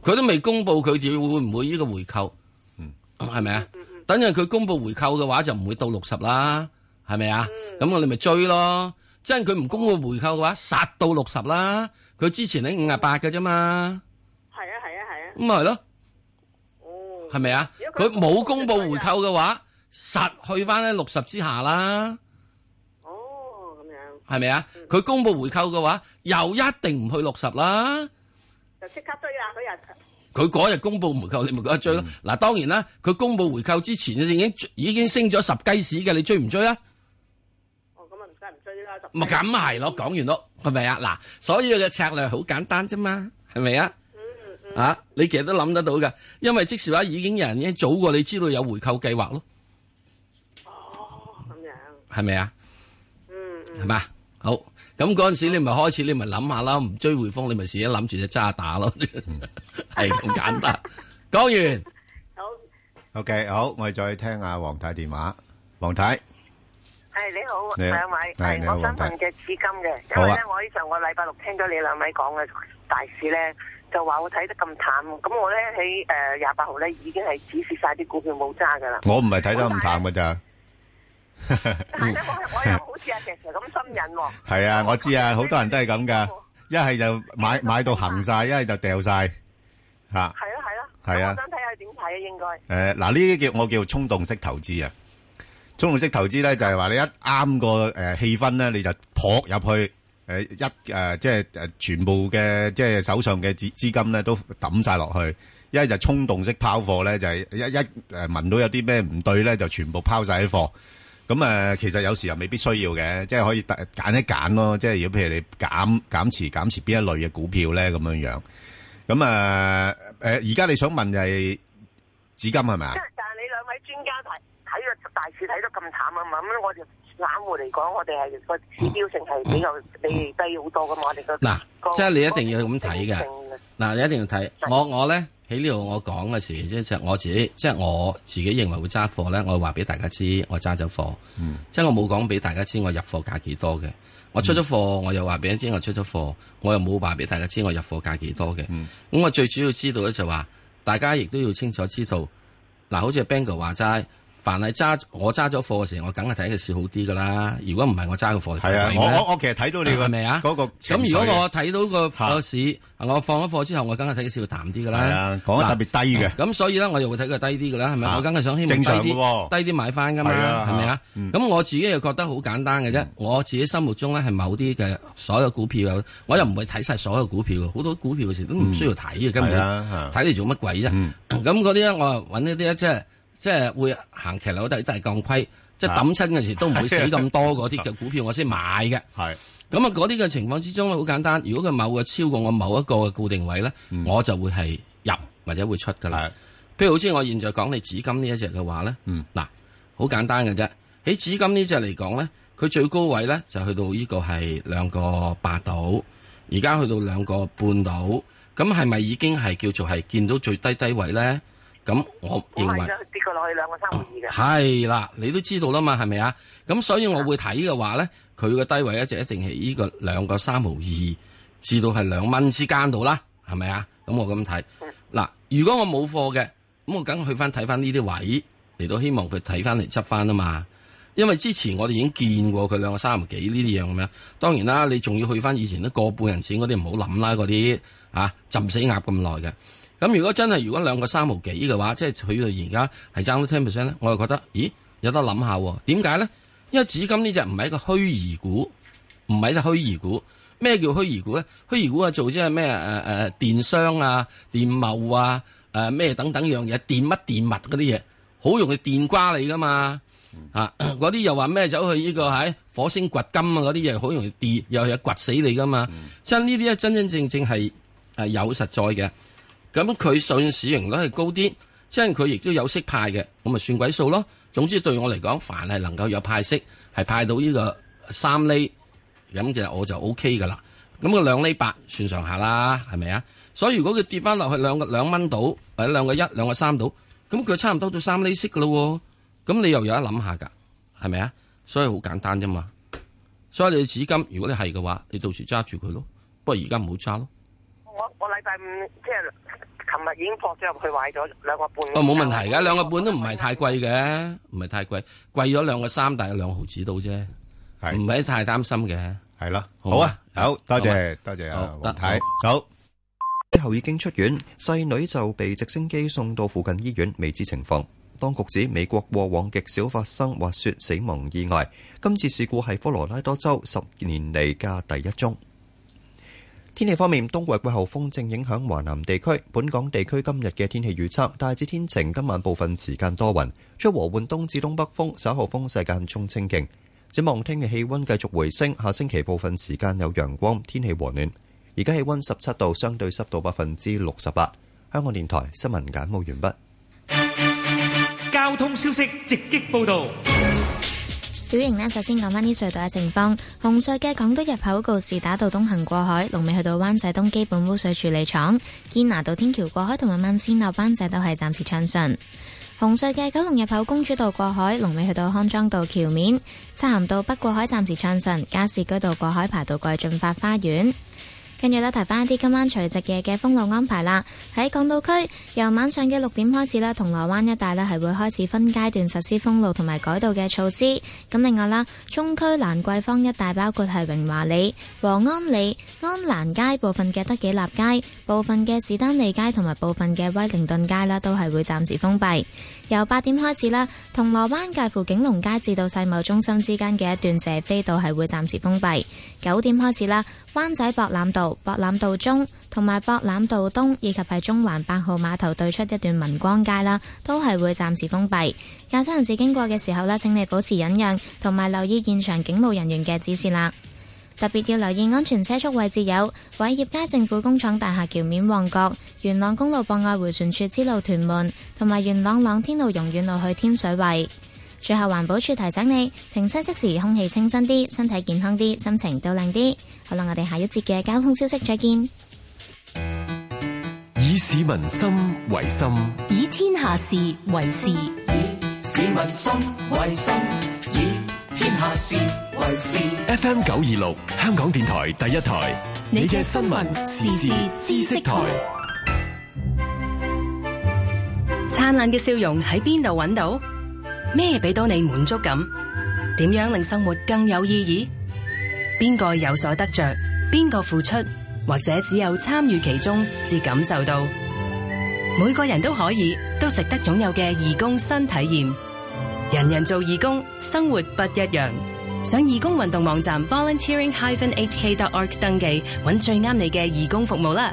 佢都未公布佢哋會唔會呢個回購，係咪啊？等陣佢公布回購嘅話，就唔會到六十啦，係咪啊？咁、嗯、我哋咪追咯。即係佢唔公布回購嘅話，殺到六十啦。佢之前喺五十八嘅啫嘛。
係啊係啊係啊。
咁咪係咯。哦。係咪啊？佢冇公布回購嘅話，實去翻喺六十之下啦。
哦，咁樣。
係咪啊？佢、嗯、公布回購嘅話，又一定唔去六十啦。
就即刻追啦！嗰日。
佢嗰日公布回購，你咪覺得追咯。嗱、嗯，當然啦，佢公布回購之前，已經已經升咗十雞屎嘅，你追唔追啊？
哦，咁啊唔使唔追啦。
咪咁係咯，講完咯，係咪啊？嗱，所以嘅策略好簡單啫嘛，係咪啊？嗯嗯。啊，你其實都諗得到㗎，因為即時話已經有人已經早過你知道有回購計劃咯。
哦，咁樣。
係咪啊？
嗯嗯。
係嘛？好。咁嗰陣時你咪開始，你咪諗下啦，唔追匯豐，你咪自己諗住隻渣打咯，係咁簡單。講完。
好。
OK， 好，我哋再聽下黃太電話。黃太。
係你好，
你好
兩位，
係
係我想問隻紫金嘅，因為咧我呢上個禮拜六聽咗你兩位講嘅大市咧，就話我睇得咁淡，咁我咧喺誒廿八號咧已經係止蝕晒啲股票冇揸噶啦。
我唔係睇得咁淡噶咋。
係咧，我我又好似阿石 Sir 咁心癮喎。
係啊，我知啊，好多人都係咁噶，一係就買買到行晒，一係就掉晒，吓。係
啊係啊。
係啊。
我想睇下點睇啊，應該。
誒，嗱呢啲叫我叫衝動式投資啊。衝動式投資咧就係話你一啱個誒氣氛咧，你就撲入去誒一誒即係誒全部嘅即係手上嘅資資金咧都抌晒落去。一係就衝動式拋貨咧，就係一一誒聞到有啲咩唔對咧，就全部拋晒啲貨。咁誒，其實有時又未必需要嘅，即係可以揀一揀咯。即係如果譬如你減減持減持邊一類嘅股票咧，咁樣樣。咁誒誒，而家你想問就係紫金係咪啊？
即係但係你兩位專家睇睇個大市睇得咁淡啊嘛，咁我哋散戶嚟講，我哋係個指標性係比較比低好多噶嘛，我哋個
嗱，即係你一定要咁睇嘅。嗱，你一定要睇我我咧。喺呢度我講嘅時，即係我自己，即係我自己認為會揸貨咧，我會話俾大家知，我揸咗貨。嗯、即係我冇講俾大家知我入貨價幾多嘅。我出咗貨，我又話俾人知我出咗貨，我又冇話俾大家知我入貨價幾多嘅。咁、嗯、我最主要知道咧就話，大家亦都要清楚知道，嗱，好似 Bangor 話齋。凡係揸我揸咗貨嘅時候，我梗係睇個市好啲噶啦。如果唔係我揸個貨，
係啊，我我我其實睇到你係咪啊？嗰個
咁如果我睇到個個市，我放咗貨之後，我梗係睇個市會淡啲噶啦。係啊，
講得特別低嘅。
咁所以咧，我又會睇佢低啲噶啦，係咪？我梗係想希望低啲，低啲買翻噶嘛，係咪啊？咁我自己又覺得好簡單嘅啫。我自己心目中咧係某啲嘅所有股票，我又唔會睇晒所有股票，好多股票嘅時都唔需要睇嘅，根本睇嚟做乜鬼啫？咁嗰啲咧，我揾一啲咧，即係。即係會行騎樓都都係降虧，即係抌親嘅時都唔會死咁多嗰啲嘅股票，我先買嘅。係咁啊，嗰啲嘅情況之中咧，好簡單。如果佢某個超過我某一個嘅固定位咧，嗯、我就會係入或者會出噶啦。譬如好似我現在講你紫金呢一隻嘅話咧，嗱、嗯，好簡單嘅啫。喺紫金呢隻嚟講咧，佢最高位咧就去到呢個係兩個八度，而家去到兩個半度，咁係咪已經係叫做係見到最低低位咧？咁我認為
跌過落去兩個三毫二嘅
係啦，你都知道啦嘛，係咪啊？咁所以我會睇嘅話咧，佢嘅低位一直一定係呢個兩個三毫二至到係兩蚊之間度啦，係咪啊？咁我咁睇嗱，如果我冇貨嘅，咁我梗去翻睇翻呢啲位嚟到，希望佢睇翻嚟執翻啊嘛。因為之前我哋已經見過佢兩個三毫幾呢啲樣咁樣，當然啦，你仲要去翻以前都個半人錢嗰啲唔好諗啦，嗰啲啊浸死鴨咁耐嘅。咁如果真係如果兩個三毫幾嘅話，即係佢到而家係爭到 ten percent 咧，我就覺得，咦，有得諗下。點解咧？因為紫金呢隻唔係一個虛擬股，唔係一隻虛擬股。咩叫虛擬股咧？虛擬股啊，做即係咩誒誒電商啊、電貿啊、誒咩等等樣嘢，電乜電物嗰啲嘢，好容易電瓜你噶嘛。啊，嗰啲又話咩走去呢個喺火星掘金啊，嗰啲嘢好容易跌，又係掘死你噶嘛。真呢啲咧真真正正係係有實在嘅。咁佢上市盈率係高啲，即係佢亦都有息派嘅，咁咪算鬼數咯。總之對我嚟講，凡係能夠有派息，係派到呢個三厘，咁其實我就 O K 噶啦。咁個兩厘八算上下啦，係咪啊？所以如果佢跌翻落去兩個兩蚊到，或者兩個一、兩個三到，咁佢差唔多到三厘息噶咯。咁你又有得諗下噶，係咪啊？所以好簡單啫嘛。所以你紫金，如果你係嘅話，你到時揸住佢咯。不過而家唔好揸咯。
我我禮拜五即係琴日已經撲咗入去買咗兩個半。
哦，冇問題㗎，兩個半都唔係太貴嘅，唔係太貴，貴咗兩個三，大概兩毫子到啫，唔係太擔心嘅，
係咯。好啊，好多謝多謝啊，黃太，好。
之後已經出院，細女就被直升機送到附近醫院，未知情況。當局指美國過往極少發生滑雪死亡意外，今次事故係科羅拉多州十年嚟嘅第一宗。天氣方面，冬季季候風正影響華南地區，本港地區今日嘅天氣預測大致天晴，今晚部分時間多雲，吹和緩東至東北風，稍後風勢間中清勁。展望聽日氣溫繼續回升，下星期部分時間有陽光，天氣和暖。而家氣溫十七度，相對濕度百分之六十八。香港電台新聞簡報完畢。
交通消息直擊報道。
小瑩呢，首先講返啲隧道嘅情況。紅隧嘅港島入口告士打道東行過海，龍尾去到灣仔東基本污水處理廠；堅拿道天橋過海同埋慢線落灣仔都係暫時暢順。紅隧嘅九龍入口公主道過海，龍尾去到康莊道橋面；漆咸道北過海暫時暢順，加士居道過海排到過去駿發花園。跟住咧，提翻一啲今晚除夕夜嘅封路安排啦。喺港島區，由晚上嘅六點開始啦，銅鑼灣一帶呢係會開始分階段實施封路同埋改道嘅措施。咁另外啦，中區蘭桂坊一帶包括係榮華里、和安里、安蘭街部分嘅德己立街、部分嘅士丹利街同埋部分嘅威靈頓街啦，都係會暫時封閉。由八點開始啦，銅鑼灣介乎景隆街至到世貿中心之間嘅一段謝斐道係會暫時封閉。九點開始啦，灣仔博覽道、博覽道中同埋博覽道東以及係中環八號碼頭對出一段民光街啦，都係會暫時封閉。駕駛人士經過嘅時候呢，請你保持忍讓，同埋留意現場警務人員嘅指示啦。特別要留意安全車速位置有偉業街政府工廠大廈橋面旺角、元朗公路博愛迴旋處支路屯門，同埋元朗朗天路榕苑路去天水圍。最後環保署提醒你，停車熄時空氣清新啲，身體健康啲，心情都靚啲。好啦，我哋下一節嘅交通消息再見。
以市民心為心，
以天下事為事，以
市民心為心，以天下事為事。F M 九二六，香港電台第一台，你嘅新聞時事知識台。
燦爛嘅笑容喺邊度揾到？咩俾到你滿足感？點樣令生活更有意義？邊個有所得着？邊個付出？或者只有參與其中，至感受到。每個人都可以，都值得擁有嘅義工新體驗。人人做義工，生活不一樣。上義工運動網站 volunteering dash h k dot org 登記，揾最啱你嘅義工服務啦。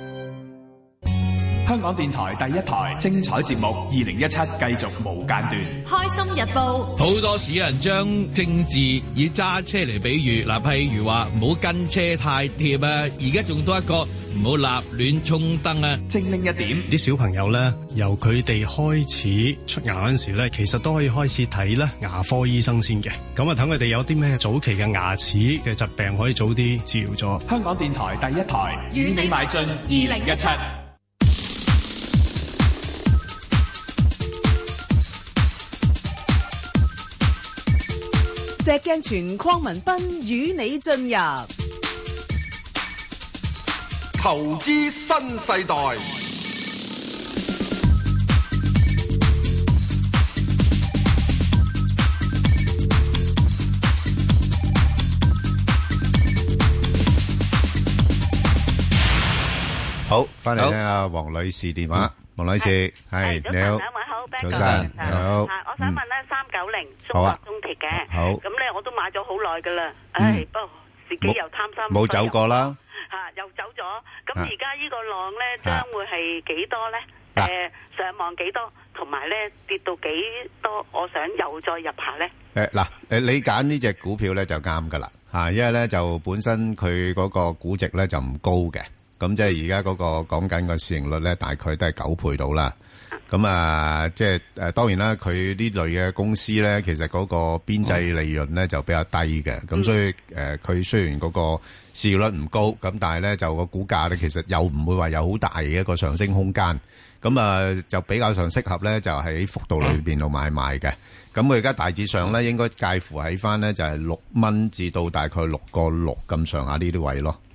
香港電台第一台精彩節目，二零一七繼續無間斷。
開心日報，
好多時有人將政治以揸車嚟比喻，嗱，譬如話唔好跟車太貼啊，而家仲多一個唔好立亂衝燈啊。
精靈一點，
啲小朋友咧，由佢哋開始出牙嗰陣時咧，其實都可以開始睇咧牙科醫生先嘅。咁啊，等佢哋有啲咩早期嘅牙齒嘅疾病可以早啲治療咗。
香港電台第一台，與你邁進二零一七。
石鏡泉鄺民彬與你進入
投資新世代。
好，翻嚟聽下黃女士電話。黃女士，係你好，
兩位好，
早晨，你好。
我想問咧，三九零中國中鐵嘅，
好，
咁咧我都買咗好耐噶啦，唉，不過自己又貪心，
冇走過啦，
吓又走咗，咁而家呢個浪咧將會係幾多咧？誒，上望幾多？同埋咧跌到幾多？我想又再入下咧。
誒，嗱，誒，你揀呢隻股票咧就啱噶啦，吓，因為咧就本身佢嗰個估值咧就唔高嘅。咁即係而家嗰個講緊個市盈率咧，大概都係九倍到啦。咁啊，即係誒，當然啦，佢呢類嘅公司咧，其實嗰個邊際利潤咧就比較低嘅。咁、嗯、所以誒，佢、呃、雖然嗰個市盈率唔高，咁但係咧就個股價咧，其實又唔會話有好大嘅一個上升空間。咁啊，就比較上適合咧，就喺幅度裏邊度買賣嘅。咁佢而家大致上咧，應該介乎喺翻咧就係六蚊至到大概六個六咁上下呢啲位咯。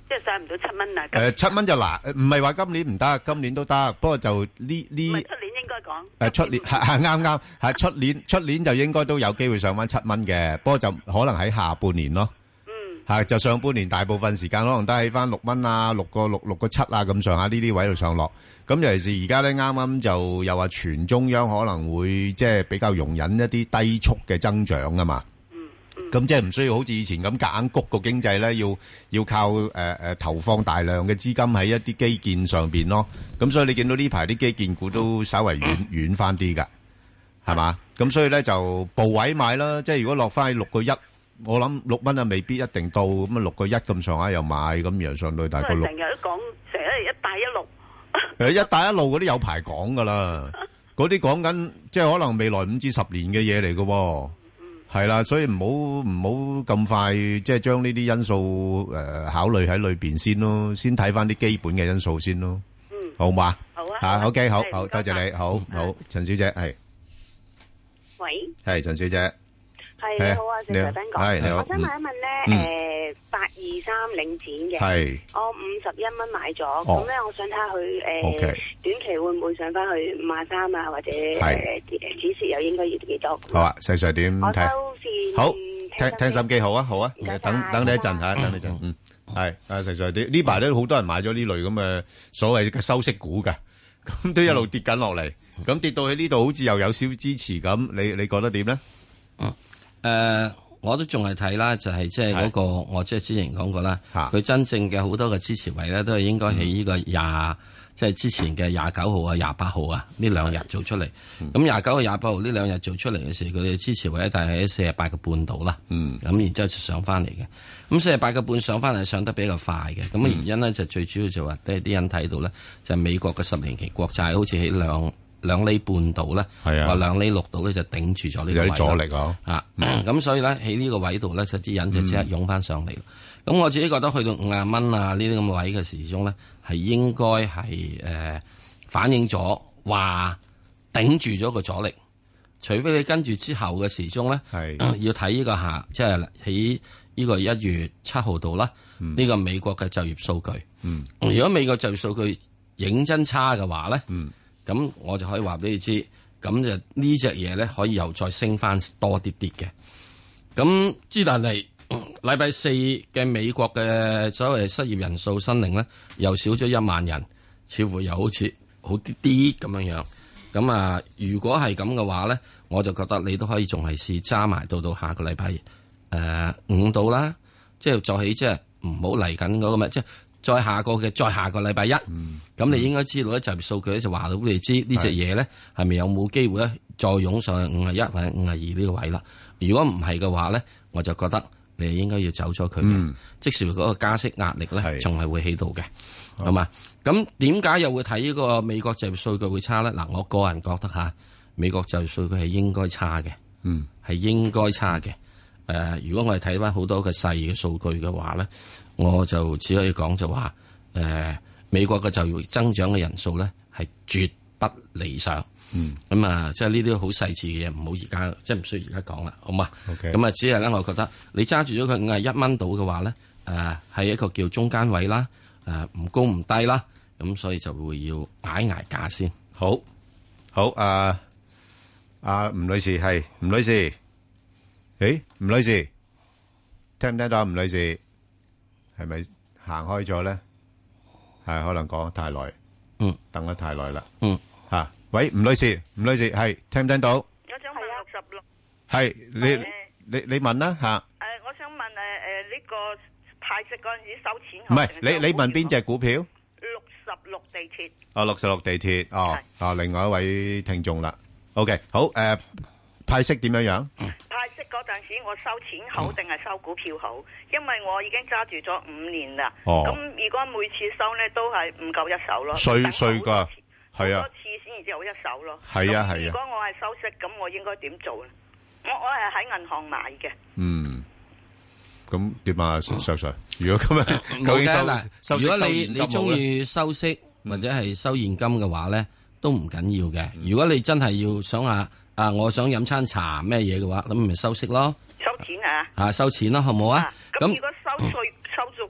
即係上唔到七蚊啊？
誒七蚊就難，唔係話今年唔得，今年都得，不過就呢呢。
唔係出年應該講。
誒出年係係啱啱係出年出年就應該都有機會上翻七蚊嘅，不過就可能喺下半年咯。嗯。係就上半年大部分時間可能都喺翻六蚊啊，六個六六個七啊咁上下呢啲位度上落。咁尤其是而家咧，啱啱就又話全中央可能會即係比較容忍一啲低速嘅增長啊嘛。咁即係唔需要好似以前咁夾硬谷個經濟咧，要要靠誒誒投放大量嘅資金喺一啲基建上邊咯。咁所以你見到呢排啲基建股都稍為軟軟翻啲㗎，係嘛？咁所以咧就部位買啦。即係如果落翻去六個一，我諗六蚊啊未必一定到。咁啊六個一咁上下又買，咁又上到大概六。
成日都講成日一帶一路。
誒一帶一路嗰啲有排講㗎啦，嗰啲講緊即係可能未來五至十年嘅嘢嚟㗎喎。係啦，所以唔好唔好咁快，即係將呢啲因素誒考慮喺裏邊先咯，先睇翻啲基本嘅因素先咯。嗯，好嘛？好啊。吓，OK，好好，多謝你，好好，陳小姐係。
喂。係
陳小姐。
係你好啊，謝謝斌哥。
係你好。
我想問一問咧，誒，八二三領展嘅，係我五十一蚊買咗，咁咧我想睇下佢誒短期會唔會上翻去五廿三啊，或者誒止蝕又應該要幾多？
好啊，細細點睇？
我收線。
好，聽聽心機好啊，好啊，等等你一陣吓，等你一陣，嗯，係啊，細細啲呢排都好多人買咗呢類咁嘅所謂嘅收息股嘅，咁都一路跌緊落嚟，咁跌到喺呢度好似又有少支持咁，你你覺得點咧？
嗯。誒、呃，我都仲係睇啦，就係即係嗰個，我即係之前講過啦。佢真正嘅好多嘅支持位咧，都係應該喺呢個廿、嗯，即係之前嘅廿九號啊、廿八號啊呢兩日做出嚟。咁廿九號、廿八號呢兩日做出嚟嘅時候，佢嘅支持位咧，大概喺四十八個半度啦。嗯。咁然之後就上翻嚟嘅。咁四十八個半上翻嚟，上得比較快嘅。咁嘅原因咧，就最主要就話，啲啲人睇到咧，就係美國嘅十年期國債好似喺兩。兩厘半度咧，話兩厘六度咧就頂住咗呢個位，有啲阻力啊！啊，咁、嗯、所以咧喺呢個位度咧，就啲人就即刻湧翻上嚟。咁、嗯、我自己覺得去到五廿蚊啊呢啲咁嘅位嘅時鐘咧，係應該係誒、呃、反映咗話頂住咗個阻力。除非你跟住之後嘅時鐘咧，係、呃、要睇呢個下，即係喺呢個一月七號度啦。呢、嗯這個美國嘅就業數據，嗯，如果美國就業數據認真差嘅話咧，嗯。咁我就可以話俾你知，咁就呢隻嘢咧可以又再升翻多啲啲嘅。咁之但係禮拜四嘅美國嘅所謂失業人數申領咧，又少咗一萬人，似乎又好似好啲啲咁樣樣。咁啊，如果係咁嘅話咧，我就覺得你都可以仲係試揸埋到到下個禮拜誒五度啦，即係再起即係唔好嚟緊嗰個咩即係。再下個嘅，再下個禮拜一，咁、嗯、你應該知道咧，就業數據咧就話到俾你知呢隻嘢咧係咪有冇機會咧再湧上去五十一或者五十二呢個位啦？如果唔係嘅話咧，我就覺得你應該要走咗佢嘅，嗯、即使嗰個加息壓力咧仲係會起到嘅，好嘛？咁點解又會睇呢個美國就業數據會差咧？嗱，我個人覺得吓，美國就業數據係應該差嘅，係、嗯、應該差嘅。誒、呃，如果我哋睇翻好多嘅細嘅數據嘅話咧。我就只可以講就話，誒、呃，美國嘅就業增長嘅人數咧係絕不理想。嗯，咁啊，即係呢啲好細緻嘅嘢，唔好而家，即係唔需要而家講啦，好嘛？咁、okay. 啊，只係咧，我覺得你揸住咗佢五十一蚊到嘅話咧，誒、呃，係一個叫中間位啦，誒、呃，唔高唔低啦，咁所以就會要挨挨價先。
好，好，啊，阿吳女士係吳女士，誒，吳女士，聽唔聽到？吳女士。係咪行開咗咧？係可能講得太耐，嗯，等得太耐啦，嗯，吓，喂，吳女士，吳女士係聽唔聽到？
我想問六十六，
係你你你問啦吓。誒，
我想問誒誒呢個派息嗰陣時收錢，
唔係你你問邊隻股票？
六十六地鐵。
哦，六十六地鐵，哦，哦，另外一位聽眾啦。OK，好，誒，派息點樣樣？
派息嗰陣時，我收錢好定係收股票好？因為我已經揸住咗五年啦。哦。咁如果每次收咧都係唔夠一手咯。碎碎噶，係啊。好多次先至有一手咯。係啊係啊。如果我係收息，咁我應該點做咧？我我係喺銀行買嘅。嗯。咁點啊？石 Sir，如果咁樣，究竟收？如果你你中意收息或者係收現金嘅話咧，都唔緊要嘅。如果你真係要想下。啊！我想飲餐茶咩嘢嘅話，咁咪收息咯。收錢啊！啊，收錢咯，好唔好啊？咁如果收稅收咗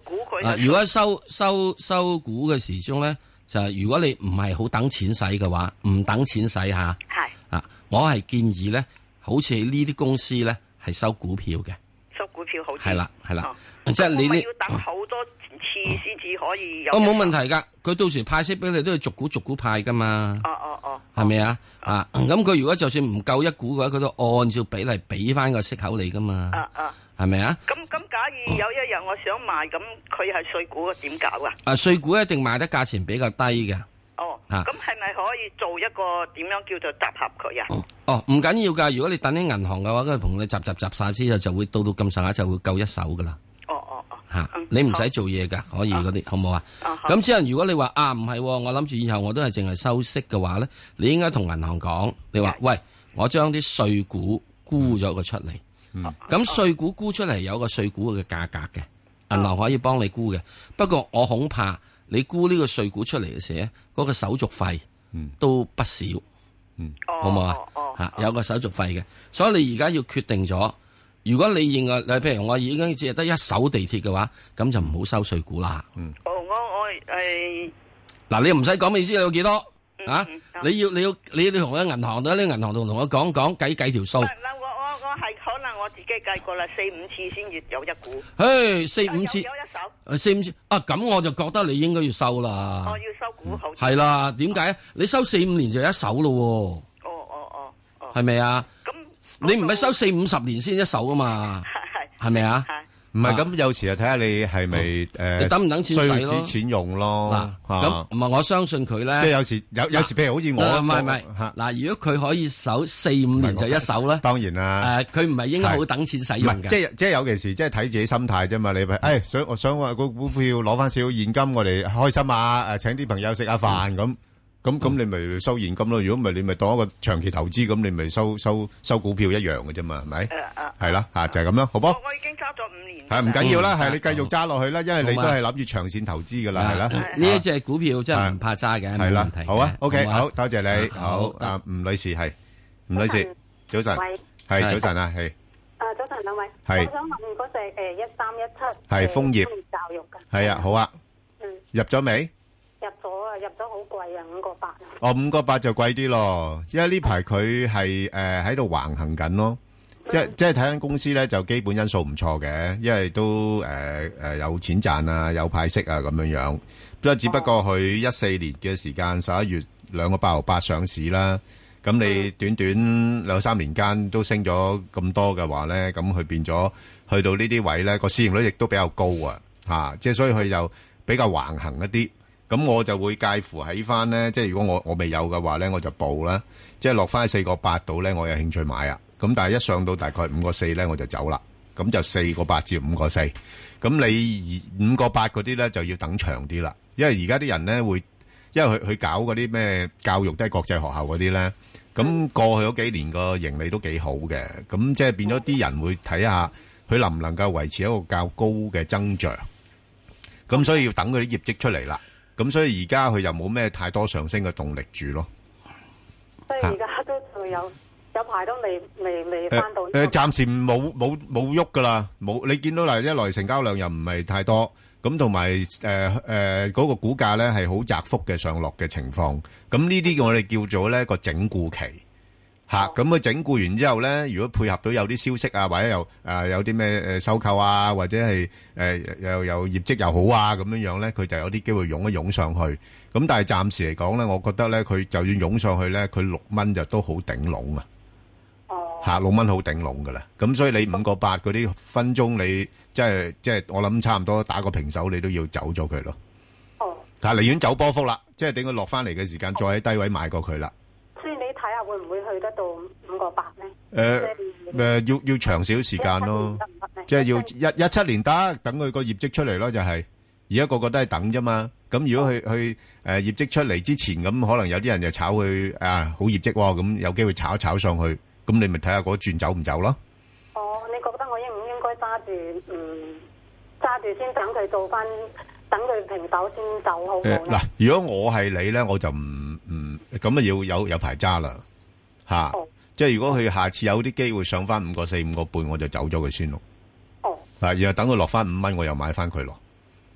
股佢。
啊，如果收收收股嘅時鐘咧，就係如果你唔係好等錢使嘅話，唔等錢使吓。係啊，我係建議咧，好似呢啲公司咧係收股票嘅。
收股票好。
係啦係啦，即係你呢？
要等好多次先至可以有。
哦，冇問題噶，佢到時派息俾你都要逐股逐股派噶嘛。
哦哦哦。
係咪啊？啊，咁佢如果就算唔夠一股嘅話，佢都按照比例俾翻個息口你噶嘛。
啊啊。
係咪啊？
咁咁，假如有一日我想賣，咁佢係碎股點搞啊？
啊，碎股一定賣得價錢比較低嘅。
哦。
啊。
咁係咪可以做一個點樣叫做集合佢啊？
哦，唔緊要噶。如果你等喺銀行嘅話，佢同你集集集晒之後，就會到到咁上下就會夠一手噶啦。
哦哦哦。
吓，你唔使做嘢噶，可以嗰啲，好唔好啊？咁之後如果你話啊唔係，我諗住以後我都係淨係收息嘅話咧，你應該同銀行講，你話喂，我將啲碎股沽咗佢出嚟。咁碎股沽出嚟有個碎股嘅價格嘅，銀行可以幫你沽嘅。不過我恐怕你沽呢個碎股出嚟嘅時咧，嗰個手續費都不少，好唔好啊？吓，有個手續費嘅，所以你而家要決定咗。如果你認為，你譬如我已經只係得一手地鐵嘅話，咁就唔好收碎股啦。
哦，我我誒，
嗱，你唔使講，意思有幾多啊？你要你要你要同喺銀行度，呢銀行度同我講講計計條數。
我我係可能我自己計過啦，四五次先至有一股。
誒，四五次，
有一手。
四五次啊，咁我就覺得你應該要收啦。
我要收股好。
係啦，點解？你收四五年就一手咯。
哦哦哦哦。
係咪啊？咁你唔係收四五十年先一手噶嘛？係係咪啊？
唔係咁，有時就睇下你係咪誒，
你等唔等錢使咯？
需要錢用咯。
嗱，咁唔係我相信佢咧。
即係有時有有時，譬如好似我，
唔係唔係。嗱，如果佢可以守四五年就一手咧，
當然啦。
誒，佢唔係應該好等錢使用嘅。
即係即係有件事，即係睇自己心態啫嘛。你咪誒想我想話個股票攞翻少少現金，我哋開心啊！誒，請啲朋友食下飯咁。咁咁你咪收現金咯，如果唔係你咪當一個長期投資，咁你咪收收收股票一樣嘅啫嘛，係咪？係啦，吓就係咁咯，好唔好？
我已經揸咗五年。
係唔緊要啦，係你繼續揸落去啦，因為你都係諗住長線投資噶啦，係啦。
呢一隻股票真係唔怕揸嘅，
係啦。好啊，OK，好多謝你，好啊，吳女士係，吳女士，早晨，係早晨啊，係。
啊，早晨兩位，
係。
我想問嗰隻誒一三一七
係楓葉
教育嘅。
係啊，好啊。
嗯。
入咗未？
入咗啊，入咗好貴啊，五個八。
哦，五個八就貴啲咯，因為呢排佢係誒喺度橫行緊咯，即係即係睇緊公司咧就基本因素唔錯嘅，因為都誒誒有錢賺啊，有派息啊咁樣樣，不過只不過佢一四年嘅時間十一月兩個八毫八上市啦，咁你短短兩三年間都升咗咁多嘅話咧，咁佢變咗去到呢啲位咧個市盈率亦都比較高啊，吓，即係所以佢就比較橫行一啲。咁我就會介乎喺翻咧，即係如果我我未有嘅話咧，我就報啦。即係落翻喺四個八度咧，我有興趣買啊。咁但係一上到大概五個四咧，我就走啦。咁就四個八至五個四。咁你五個八嗰啲咧就要等長啲啦，因為而家啲人咧會，因為佢佢搞嗰啲咩教育都係國際學校嗰啲咧。咁過去嗰幾年個盈利都幾好嘅，咁即係變咗啲人會睇下佢能唔能夠維持一個較高嘅增長。咁所以要等佢啲業績出嚟啦。咁所以而家佢又冇咩太多上升嘅動力住咯。
所以而家都仲有有排都未未未翻到。
誒，暫時冇冇冇喐噶啦，冇你見到嗱，一來成交量又唔係太多，咁同埋誒誒嗰個股價咧係好窄幅嘅上落嘅情況。咁呢啲我哋叫做咧個整固期嚇。咁佢整固完之後咧，如果配合到有啲消息啊，或者又誒有啲咩誒收購啊，或者係誒又有業績又好啊咁樣樣咧，佢就有啲機會湧一湧上去。咁但係暫時嚟講咧，我覺得咧佢就算湧上去咧，佢六蚊就都好頂籠啊！哦，嚇六蚊好頂籠噶啦。咁所以你五個八嗰啲分鐘，你即係即係我諗差唔多打個平手，你都要走咗佢咯。哦，嚇寧願走波幅啦，即係等佢落翻嚟嘅時間，再喺低位買過佢啦。
所以你睇下會唔會去得到五個八咧？
誒誒，要要長少少時間咯，即係要一一七年得，等佢個業績出嚟咯，就係而家個個都係等啫嘛。咁如果佢佢誒業績出嚟之前，咁可能有啲人就炒佢啊好業績喎，咁有機會炒一炒上去，咁你咪睇下嗰轉走唔走咯。
哦，你覺得我應唔應該揸住嗯揸住先等佢做翻，等佢平手先走好唔好咧？
嗱，如果我係你咧，我就唔唔咁啊要有有排揸啦嚇。即係如果佢下次有啲機會上翻五個四五個半，我就走咗佢先咯。哦，嗱，然後等佢落翻五蚊，我又買翻佢咯。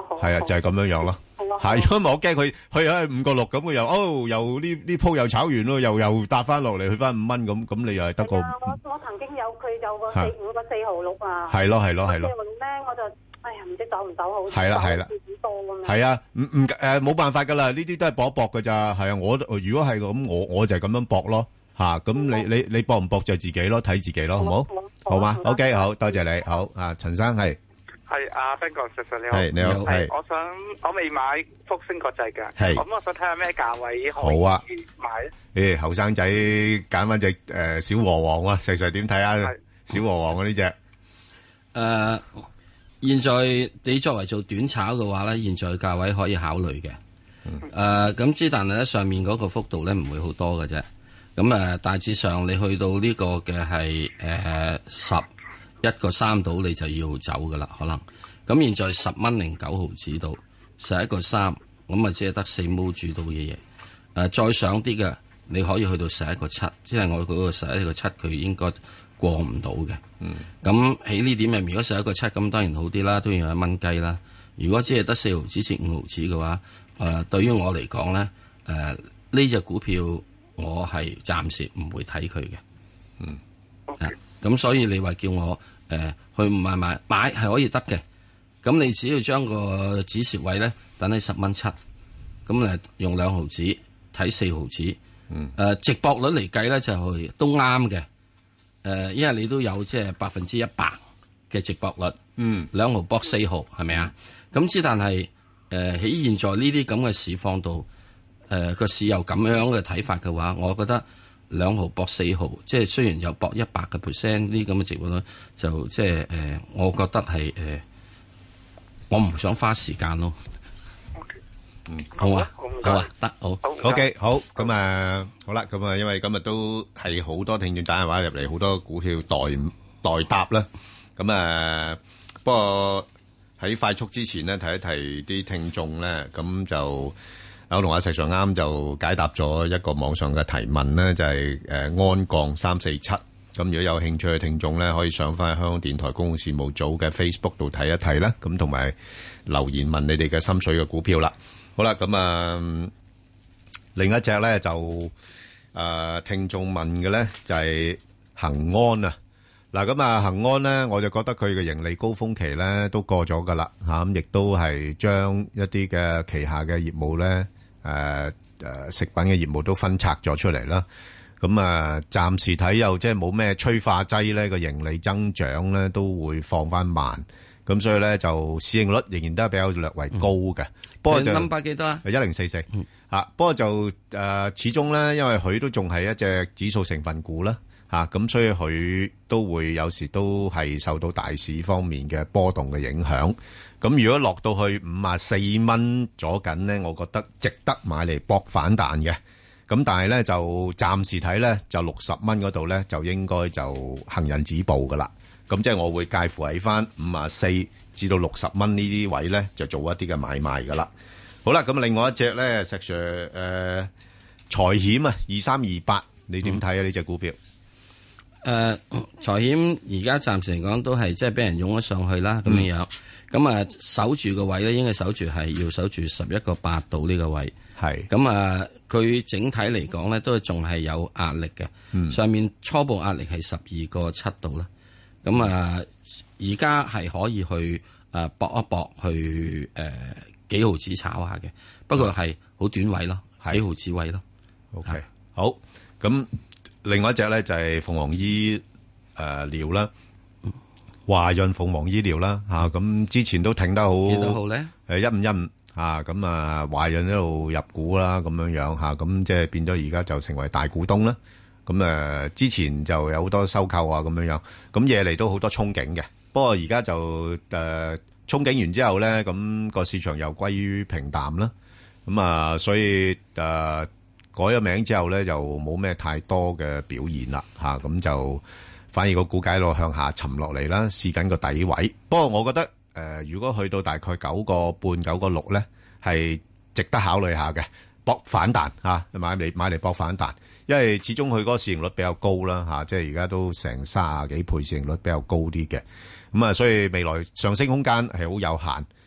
好。
係啊，就係咁樣樣咯。係，如果唔係我驚佢去喺五個六咁，佢又哦又呢呢鋪又炒完咯，又又搭翻落嚟去翻五蚊咁，咁你又係得個。
我我曾經有佢有個四五個四毫六啊。
係咯係咯係咯。
四毫六咧，我就哎呀唔知走唔走好。
係啦係啦。
多咁樣。
係啊，唔唔誒冇辦法噶啦，呢啲都係搏一搏噶咋。係啊，我如果係咁，我我就係咁樣搏咯。吓，咁你你你搏唔搏就自己咯，睇自己咯，好唔好？好嘛 ，OK， 好多謝你，好啊，陳生係。
係阿 Ben 哥，石 Sir 你好。
係你好，係。
我想我未買福星國際嘅，
係。
咁我想睇下咩價位可以買
咧？誒，後生仔揀翻隻誒小和王啊，石 Sir 點睇啊？小和王啊呢隻。
誒，現在你作為做短炒嘅話咧，現在價位可以考慮嘅。誒，咁之但係咧上面嗰個幅度咧唔會好多嘅啫。咁誒，大致上你去到呢個嘅係誒十一個三度，你就要走噶啦，可能。咁現在十蚊零九毫子到十一個三，咁啊只係得四毛住到嘅嘢。誒、呃，再上啲嘅，你可以去到十一個七，即係我嗰個十一個七，佢應該過唔到嘅。嗯。咁喺呢點入面，如果十一個七，咁當然好啲啦，都要有一蚊雞啦。如果只係得四毫子至五毫子嘅話，誒、呃，對於我嚟講咧，誒、呃，呢隻股票。我係暫時唔會睇佢嘅，嗯，啊，咁所以你話叫我誒、呃、去買買買係可以得嘅，咁你只要將個止蝕位咧等喺十蚊七，咁誒用兩毫子睇四毫子，嗯，誒、呃、值博率嚟計咧就係都啱嘅，誒、呃，因為你都有即係百分之一百嘅值博率，嗯，兩毫博四毫係咪啊？咁之但係誒喺現在呢啲咁嘅市況度。誒個、呃、市有咁樣嘅睇法嘅話，我覺得兩毫搏四毫，即係雖然有搏一百個 percent 呢咁嘅情況咧，就即係誒、呃，我覺得係誒、呃，我唔想花時間咯。
嗯，
好啊，好啊，得好。
OK，好咁啊，好啦，咁啊，因為今日都係好多聽眾打電話入嚟，好多股票代代答啦。咁啊，不過喺快速之前呢，提一提啲聽眾咧，咁就。我同阿石 Sir 啱就解答咗一個網上嘅提問咧，就係誒安鋼三四七。咁如果有興趣嘅聽眾咧，可以上翻香港電台公共事務組嘅 Facebook 度睇一睇啦。咁同埋留言問你哋嘅心水嘅股票啦。好啦，咁啊另一隻咧就誒聽眾問嘅咧就係恒安啊。嗱咁啊恒安咧，我就覺得佢嘅盈利高峰期咧都過咗噶啦嚇，咁亦都係將一啲嘅旗下嘅業務咧。誒誒、呃，食品嘅業務都分拆咗出嚟啦。咁啊，暫時睇又即係冇咩催化劑咧，個盈利增長咧都會放翻慢。咁所以咧就市盈率仍然都係比較略為高嘅。嗯、不過就 number 幾多啊？一零四四嚇。不過就誒、呃，始終咧，因為佢都仲係一隻指數成分股啦嚇，咁、啊、所以佢都會有時都係受到大市方面嘅波動嘅影響。咁如果落到去五啊四蚊左緊咧，我覺得值得買嚟搏反彈嘅。咁但係咧就暫時睇咧，就六十蚊嗰度咧就應該就行人止步噶啦。咁即係我會介乎喺翻五啊四至到六十蚊呢啲位咧，就做一啲嘅買賣噶啦。好啦，咁另外一隻咧，石 Sir 誒財險啊，二三二八，你點睇啊？呢隻股票？
誒財險而家暫時嚟講都係即係俾人湧咗上去啦，咁樣樣。咁啊，守住個位咧，應該守住係要守住十一個八度呢個位。係咁啊，佢整體嚟講咧，都仲係有壓力嘅。嗯、上面初步壓力係十二個七度啦。咁啊，而家係可以去誒搏、呃、一搏去誒、呃、幾毫子炒下嘅，不過係好短位咯，嗯、幾毫子位咯。
OK，是好。咁另外一隻咧就係鳳凰醫誒療啦。華潤鳳凰醫療啦，吓咁之前都挺得好，
幾多號咧？
誒，一五一五吓，咁啊，華潤一路入股啦，咁樣樣吓，咁即係變咗而家就成為大股東啦。咁誒，之前就有好多收購啊，咁樣樣，咁嘢嚟都好多憧憬嘅。不過而家就誒憧憬完之後咧，咁個市場又歸於平淡啦。咁啊，所以誒改咗名之後咧，就冇咩太多嘅表現啦，吓咁就。反而個股價一路向下沉落嚟啦，試緊個底位。不過我覺得誒、呃，如果去到大概九個半、九個六咧，係值得考慮下嘅，搏反彈嚇，買嚟買嚟搏反彈。因為始終佢嗰個市盈率比較高啦嚇、啊，即係而家都成三十幾倍市盈率比較高啲嘅。咁啊，所以未來上升空間係好有限。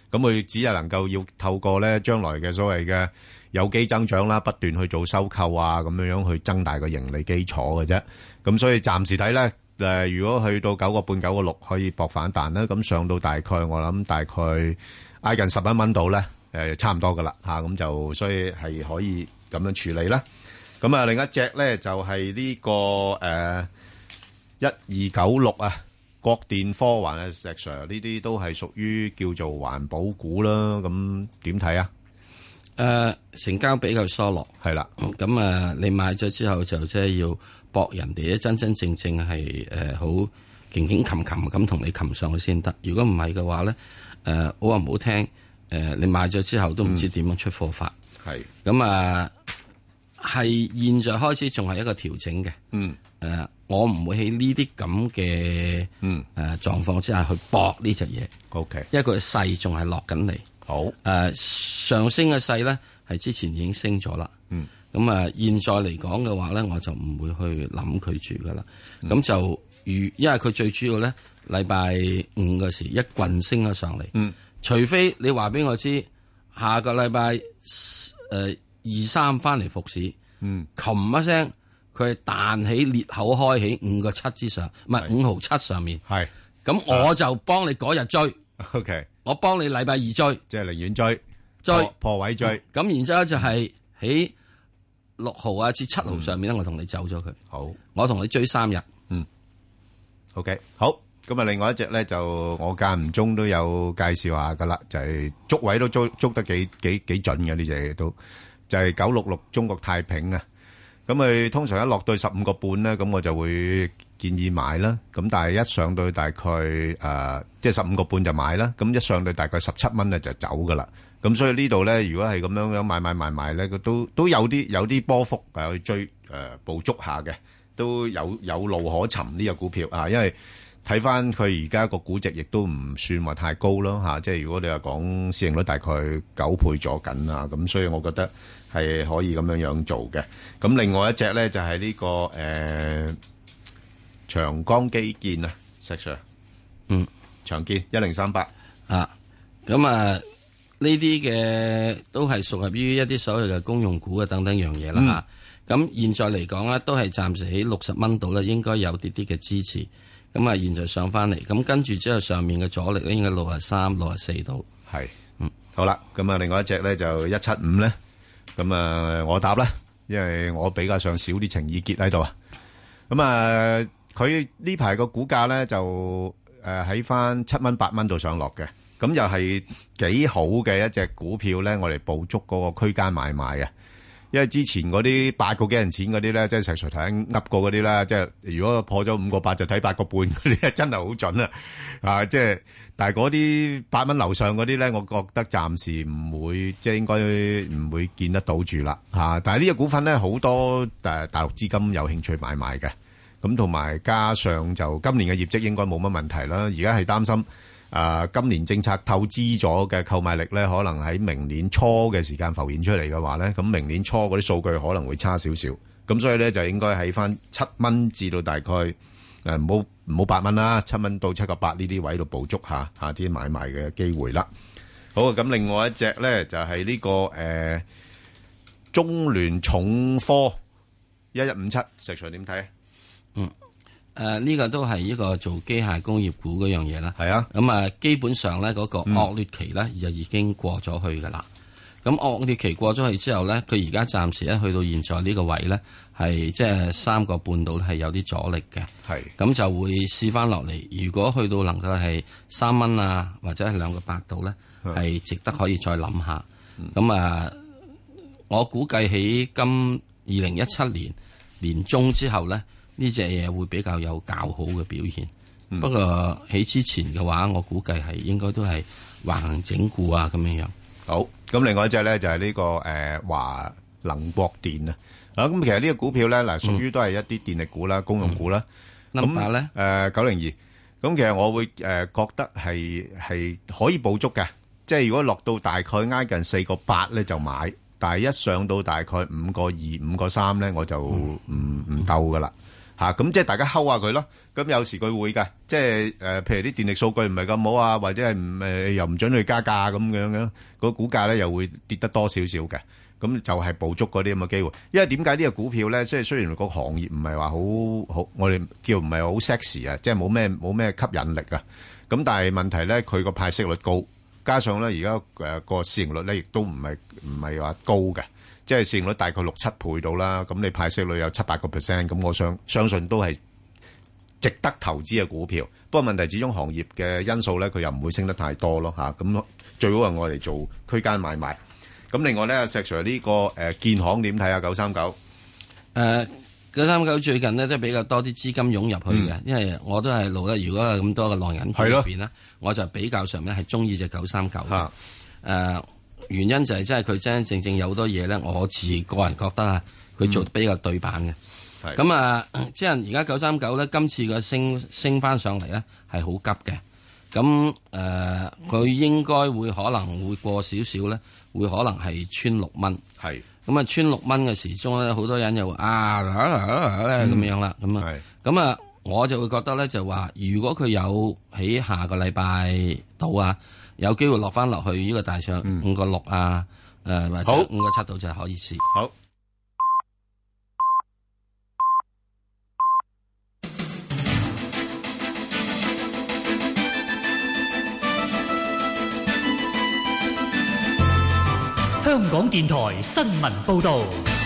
咁佢只係能夠要透過咧將來嘅所謂嘅有機增長啦，不斷去做收購啊，咁樣樣去增大個盈利基礎嘅啫。咁所以暫時睇咧，誒，如果去到九個半、九個六可以搏反彈啦，咁上到大概我諗大概挨近十一蚊度咧，誒，差唔多噶啦吓，咁就所以係可以咁樣處理啦。咁啊，另一隻咧就係呢個誒一二九六啊。國電科環啊，石 Sir 呢啲都係屬於叫做環保股啦，咁點睇啊？
誒、呃，成交比較疏落，
係啦。
咁啊、嗯，你買咗之後就即係要搏人哋咧，真真正正係誒好勁勁擒擒咁同你擒上去先得。如果唔係嘅話咧，誒、呃、好話唔好聽，誒、呃、你買咗之後都唔知點樣出貨法。
係
咁啊，係、呃、現在開始仲係一個調整嘅。
嗯。
誒、呃，我唔會喺呢啲咁嘅
嗯
誒狀況之下去搏呢隻嘢。
O K，
因為佢嘅勢仲係落緊嚟。
好誒、
呃，上升嘅勢咧係之前已經升咗啦。
嗯，
咁啊，現在嚟講嘅話咧，我就唔會去諗佢住噶啦。咁、嗯、就如因為佢最主要咧，禮拜五嘅時一棍升咗上嚟。
嗯，
除非你話俾我知下個禮拜誒二三翻嚟復市。
嗯，
琴一聲。佢係彈起裂口開起五個七之上，唔係五毫七上面。
係，
咁我就幫你嗰日追。
O K，
我幫你禮拜二追，
即係寧願追
追
破，破位追。咁、
嗯、然之後就係喺六毫啊至七毫上面咧、嗯，我同你走咗佢。
好，
我同你追三日。
嗯。O K，好。咁啊，另外一隻咧就我間唔中都有介紹下噶啦，就係、是、捉位都捉捉得幾幾幾準嘅呢隻都，就係九六六中國太平啊。咁佢通常一落到十五個半咧，咁我就會建議買啦。咁但係一上到大概誒，即係十五個半就買啦。咁一上到大概十七蚊咧就走噶啦。咁所以呢度咧，如果係咁樣樣買買買買咧，佢都都有啲有啲波幅誒去追誒捕捉下嘅，都有有路可尋呢個股票啊。因為睇翻佢而家個估值亦都唔算話太高咯嚇。即係如果你話講市盈率大概九倍咗緊啊，咁所以我覺得係可以咁樣樣做嘅。咁另外一隻咧就係呢、這個誒、呃、長江基建啊，石 Sir，
嗯，
長建一零三八
啊，咁啊呢啲嘅都係屬合於一啲所謂嘅公用股啊等等樣嘢啦嚇。咁、嗯、現在嚟講咧，都係暫時喺六十蚊度咧，應該有啲啲嘅支持。咁啊，現在上翻嚟，咁跟住之後上面嘅阻力咧，應該六十三、六十四度。
係，嗯，好啦，咁啊，另外一隻咧就一七五咧，咁啊，我答啦。因為我比較上少啲情意結喺度啊，咁啊，佢呢排個股價咧就誒喺翻七蚊八蚊度上落嘅，咁又係幾好嘅一隻股票咧，我哋捕捉嗰個區間買賣啊。因為之前嗰啲八個幾銀錢嗰啲咧，即係石 Sir 睇噏過嗰啲啦，即係如果破咗五個八就睇八個半嗰啲，真係好準啊！啊，即係但係嗰啲八蚊樓上嗰啲咧，我覺得暫時唔會，即係應該唔會見得到住啦嚇。但係呢個股份咧，好多誒大陸資金有興趣買賣嘅，咁同埋加上就今年嘅業績應該冇乜問題啦。而家係擔心。啊、呃，今年政策透支咗嘅購買力咧，可能喺明年初嘅時間浮現出嚟嘅話咧，咁明年初嗰啲數據可能會差少少，咁所以咧就應該喺翻七蚊至到大概誒唔好唔好八蚊啦，七蚊到七個八呢啲位度捕捉下下啲買賣嘅機會啦。好，咁另外一隻咧就係、是、呢、這個誒、呃、中聯重科一一五七，石 Sir 點睇？
嗯。誒、呃，呢、這個都係一個做機械工業股嗰樣嘢啦。
係啊，
咁啊，基本上咧嗰個惡劣期咧就已經過咗去噶啦。咁、嗯、惡劣期過咗去之後咧，佢而家暫時咧去到現在呢個位咧，係即係三個半度係有啲阻力嘅。
係，咁
就會試翻落嚟。如果去到能夠係三蚊啊，或者係兩個八度咧，係值得可以再諗下。咁、嗯、啊，我估計喺今二零一七年年中之後咧。呢隻嘢會比較有較好嘅表現，嗯、不過喺之前嘅話，我估計係應該都係橫行整固啊咁樣樣。
好，咁另外一隻咧就係、是、呢、這個誒華、呃、能國電啊。啊，咁其實呢個股票咧嗱，屬於都係一啲電力股啦、嗯、公用股啦。
咁咧
誒九零二，咁其實我會誒、呃、覺得係係可以捕捉嘅，即係如果落到大概挨近四個八咧就買，但係一上到大概五個二、五個三咧我就唔唔鬥噶啦。 嚇，咁即係大家睺下佢咯。咁有時佢會㗎，即係誒，譬如啲電力數據唔係咁好啊，或者係唔誒又唔準去加價咁樣樣，個股價咧又會跌得多少少嘅。咁就係捕捉嗰啲咁嘅機會。因為點解呢個股票咧，即係雖然個行業唔係話好好，我哋叫唔係好 sexy 啊，即係冇咩冇咩吸引力啊。咁但係問題咧，佢個派息率高，加上咧而家誒個市盈率咧亦都唔係唔係話高嘅。即係市盈率大概六七倍到啦，咁你派息率有七八個 percent， 咁我想相信都係值得投資嘅股票。不過問題始終行業嘅因素咧，佢又唔會升得太多咯嚇。咁最好係我哋做區間買賣。咁另外咧，石 Sir 呢個誒建行點睇啊？九三九
誒九三九最近呢，都比較多啲資金湧入去嘅，嗯、因為我都係路咧。如果係咁多嘅浪人股入邊咧，我就比較上咧係中意隻九三九嘅誒。原因就係真係佢真真正正有好多嘢咧，我自個人覺得啊，佢做得比較對版嘅。咁、嗯、啊，即係而家九三九咧，今次嘅升升翻上嚟咧係好急嘅。咁誒，佢、呃、應該會可能會過少少咧，會可能係穿六蚊。係咁啊，穿六蚊嘅時鐘咧，好多人又話啊咁、嗯、樣啦。咁啊，咁啊，我就會覺得咧，就話如果佢有喺下個禮拜到啊。有機會落翻落去呢個大上五個六啊，誒、嗯呃、或者五個七度就可以試。
好。
香港電台新聞報導。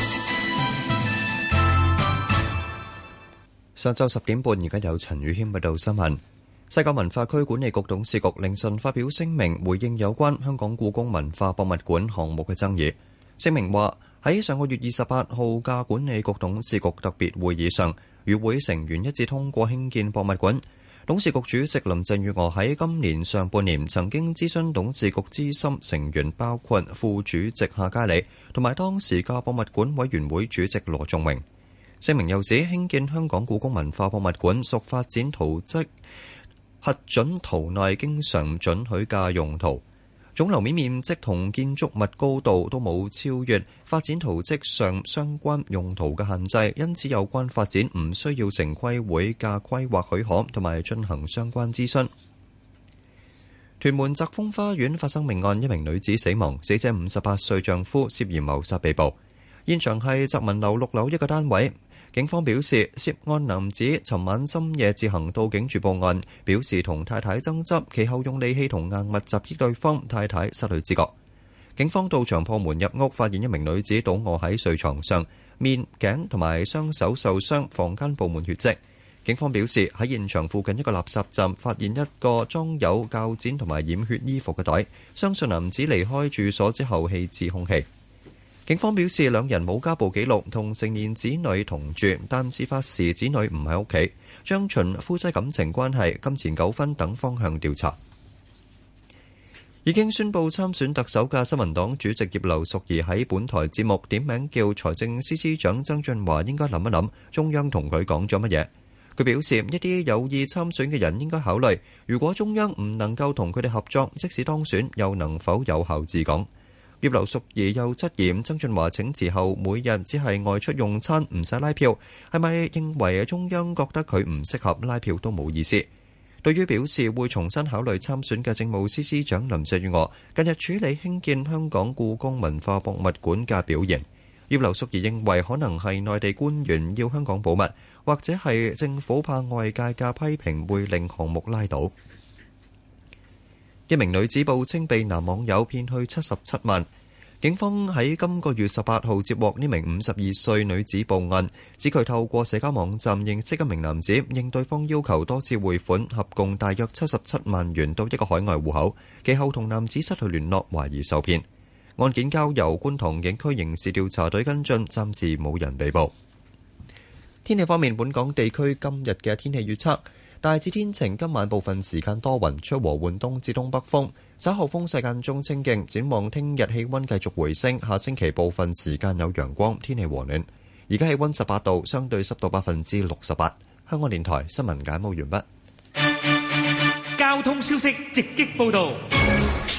上晝十點半，而家有陳宇軒報道新聞。西九文化區管理局董事局凌晨發表聲明，回應有關香港故宮文化博物館項目嘅爭議。聲明話喺上個月二十八號嘅管理局董事局特別會議上，與會成員一致通過興建博物館。董事局主席林鄭月娥喺今年上半年曾經諮詢董事局資深成員，包括副主席夏嘉理同埋當時嘅博物館委員會主席羅仲榮。聲明又指興建香港故宮文化博物館屬發展圖則核准圖內經常准許嘅用途，總樓面面積同建築物高度都冇超越發展圖則上相關用途嘅限制，因此有關發展唔需要城規會嘅規劃許可同埋進行相關諮詢。屯門澤豐花園發生命案，一名女子死亡，死者五十八歲丈夫涉嫌謀殺被捕。現場係澤民樓六樓一個單位。警方表示，涉案男子尋晚深夜自行到警署報案，表示同太太爭執，其後用利器同硬物襲擊對方，太太失去知覺。警方到場破門入屋，發現一名女子倒卧喺睡床上，面、頸同埋雙手受傷，房間佈滿血跡。警方表示，喺現場附近一個垃圾站發現一個裝有鉸剪同埋染血衣服嘅袋，相信男子離開住所之後棄置兇器。警方表示，兩人冇家暴記錄，同成年子女同住，但事發時子女唔喺屋企，將循夫妻感情關係、金錢糾紛等方向調查。已經宣布參選特首嘅新民黨主席葉劉淑儀喺本台節目點名叫財政司司長曾俊華應該諗一諗中央同佢講咗乜嘢。佢表示，一啲有意參選嘅人應該考慮，如果中央唔能夠同佢哋合作，即使當選又能否有效治港。葉劉淑儀又質疑曾俊華請辭後每日只係外出用餐，唔使拉票，係咪認為中央覺得佢唔適合拉票都冇意思？對於表示會重新考慮參選嘅政務司司長林鄭月娥近日處理興建香港故宮文化博物館嘅表現，葉劉淑儀認為可能係內地官員要香港保密，或者係政府怕外界嘅批評會令項目拉倒。一名女子報稱被男網友騙去七十七萬，警方喺今個月十八號接獲呢名五十二歲女子報案，指佢透過社交網站認識一名男子，應對方要求多次匯款，合共大約七十七萬元到一個海外戶口，其後同男子失去聯絡，懷疑受騙。案件交由觀塘警區刑事調查隊跟進，暫時冇人被捕。天氣方面，本港地區今日嘅天氣預測大致天晴，今晚部分時間多雲，吹和緩東至東北風，稍後風勢間中清勁。展望聽日氣溫繼續回升，下星期部分時間有陽光，天氣和暖。而家氣溫十八度，相對濕度百分之六十八。香港電台新聞簡報完畢。
交通消息直擊報道。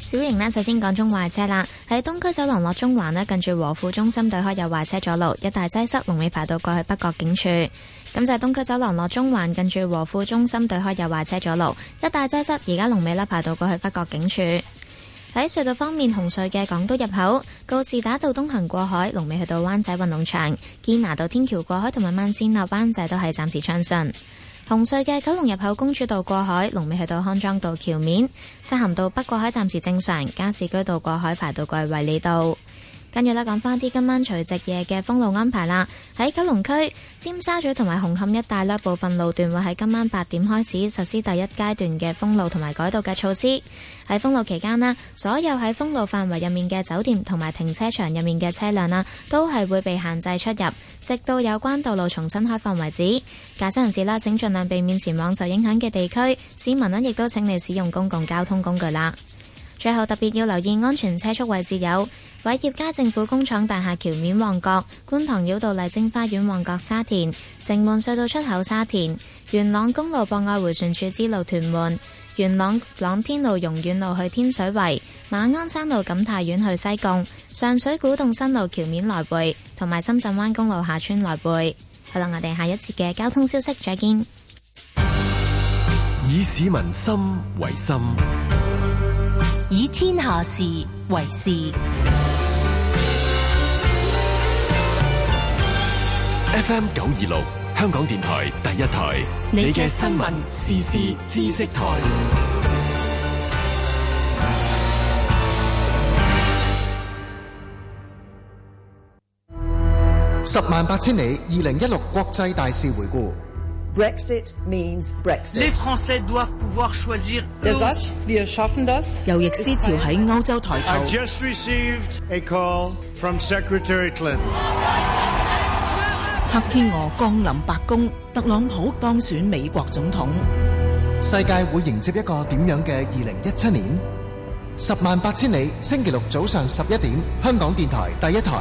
小型呢，首先講中壞車啦，喺東區走廊落中環呢，近住和富中心對開有壞車阻路，一大擠塞，龍尾排到過去北角警署。咁就係東區走廊落中環，近住和富中心對開有壞車阻路，一大擠塞，而家龍尾呢排到過去北角警署。喺隧道方面，紅隧嘅港島入口告士打道東行過海，龍尾去到灣仔運動場；堅拿道天橋過海同埋慢線落灣仔都係暫時暢順。紅隧嘅九龍入口公主道過海，龍尾去到康莊道橋面；漆咸道北過海暫時正常，加士居道過海排到過去衛理道。跟住咧，講翻啲今晚除夕夜嘅封路安排啦。喺九龍區、尖沙咀同埋紅磡一帶咧，部分路段會喺今晚八點開始實施第一階段嘅封路同埋改道嘅措施。喺封路期間咧，所有喺封路範圍入面嘅酒店同埋停車場入面嘅車輛啦，都係會被限制出入，直到有關道路重新開放為止。駕駛人士啦，請盡量避免前往受影響嘅地區。市民咧，亦都請你使用公共交通工具啦。最後特別要留意安全車速位置有偉業街政府工廠大廈橋面旺角、觀塘繞道麗晶花園旺角沙田、城門隧道出口沙田、元朗公路博愛迴旋處支路屯門、元朗朗天路榕苑路去天水圍、馬鞍山路錦泰苑去西貢、上水古洞新路橋面來回，同埋深圳灣公路下村來回。好啦，我哋下一節嘅交通消息再見。
以市民心為心，
以天下事為事。
F M 九二六，香港電台第一台，你嘅新聞時事知識台。
十萬八千里，二零一六國際大事回顧。
Brexit means Brexit.
Les Français doivent pouvoir choisir.
Wir schaffen das.
右翼思潮喺歐洲抬頭。
I've just received a call from Secretary Clinton.
黑天鵝降臨白宮，特朗普當選美國總統。
世界會迎接一個點樣嘅二零一七年？十萬八千里，星期六早上十一點，香港電台第一台。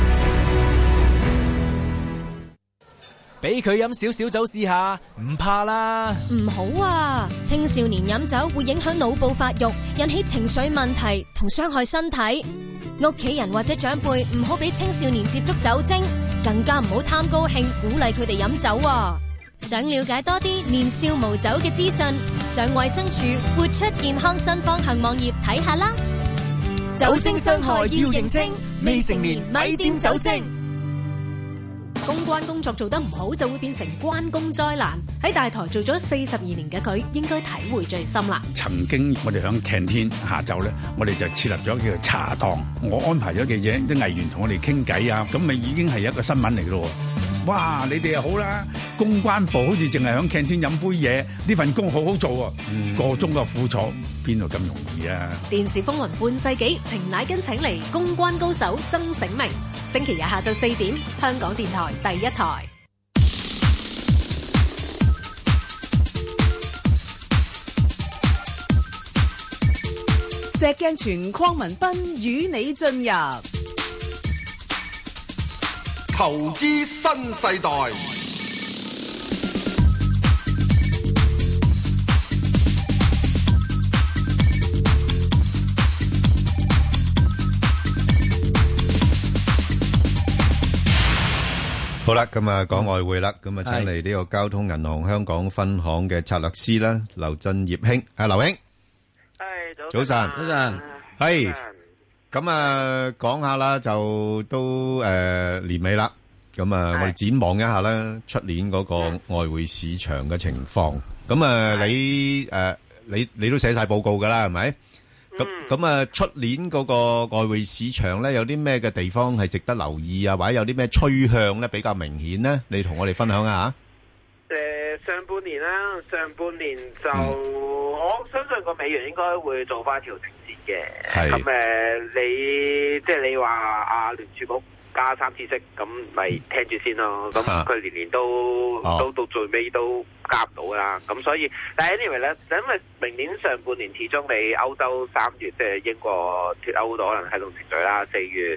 俾佢飲少少酒試下，唔怕啦。
唔好啊！青少年飲酒會影響腦部發育，引起情緒問題同傷害身體。屋企人或者長輩唔好俾青少年接觸酒精，更加唔好貪高興鼓勵佢哋飲酒啊！想了解多啲年少無酒嘅資訊，上衛生署活出健康新方向網頁睇下啦。
酒精傷害要認清，未成年咪掂酒精。
公關工作做得唔好，就會變成關公災難。喺大台做咗四十二年嘅佢，應該體會最深啦。
曾經我哋響 canteen 下晝咧，我哋就設立咗叫做茶檔，我安排咗記者啲藝員同我哋傾偈啊，咁咪已經係一個新聞嚟咯。哇！你哋又好啦，公關部好似淨係響 canteen 飲杯嘢，呢份工好好做啊！嗯、個中嘅苦楚邊度咁容易啊？
電視風雲半世紀，程乃根請嚟公關高手曾醒明。星期日下晝四點，香港電台第一台。
石鏡泉鄺民彬與你進入
投資新世代。
好啦，咁啊講外匯啦，咁啊請嚟呢個交通銀行香港分行嘅策略師啦，劉振業兄，啊劉兄，
係
早晨，
早晨，
係，咁啊講下啦，就都誒年尾啦，咁啊我哋展望一下啦，出年嗰個外匯市場嘅情況，咁啊你誒你你都寫晒報告噶啦，係咪？咁咁啊，出年嗰個外匯市場咧，有啲咩嘅地方係值得留意啊？或者有啲咩趨向咧比較明顯咧？你同我哋分享下。
誒，上半年啦，上半年就我相信個美元應該會做翻調整先嘅。咁誒，你即係你話阿聯儲局加三次息，咁咪聽住先咯。咁佢年年都都到最尾都加唔到啦。咁所以，但係 anyway 咧，因為明年上半年始終你歐洲三月即係英國脫歐都可能係種程序啦，四月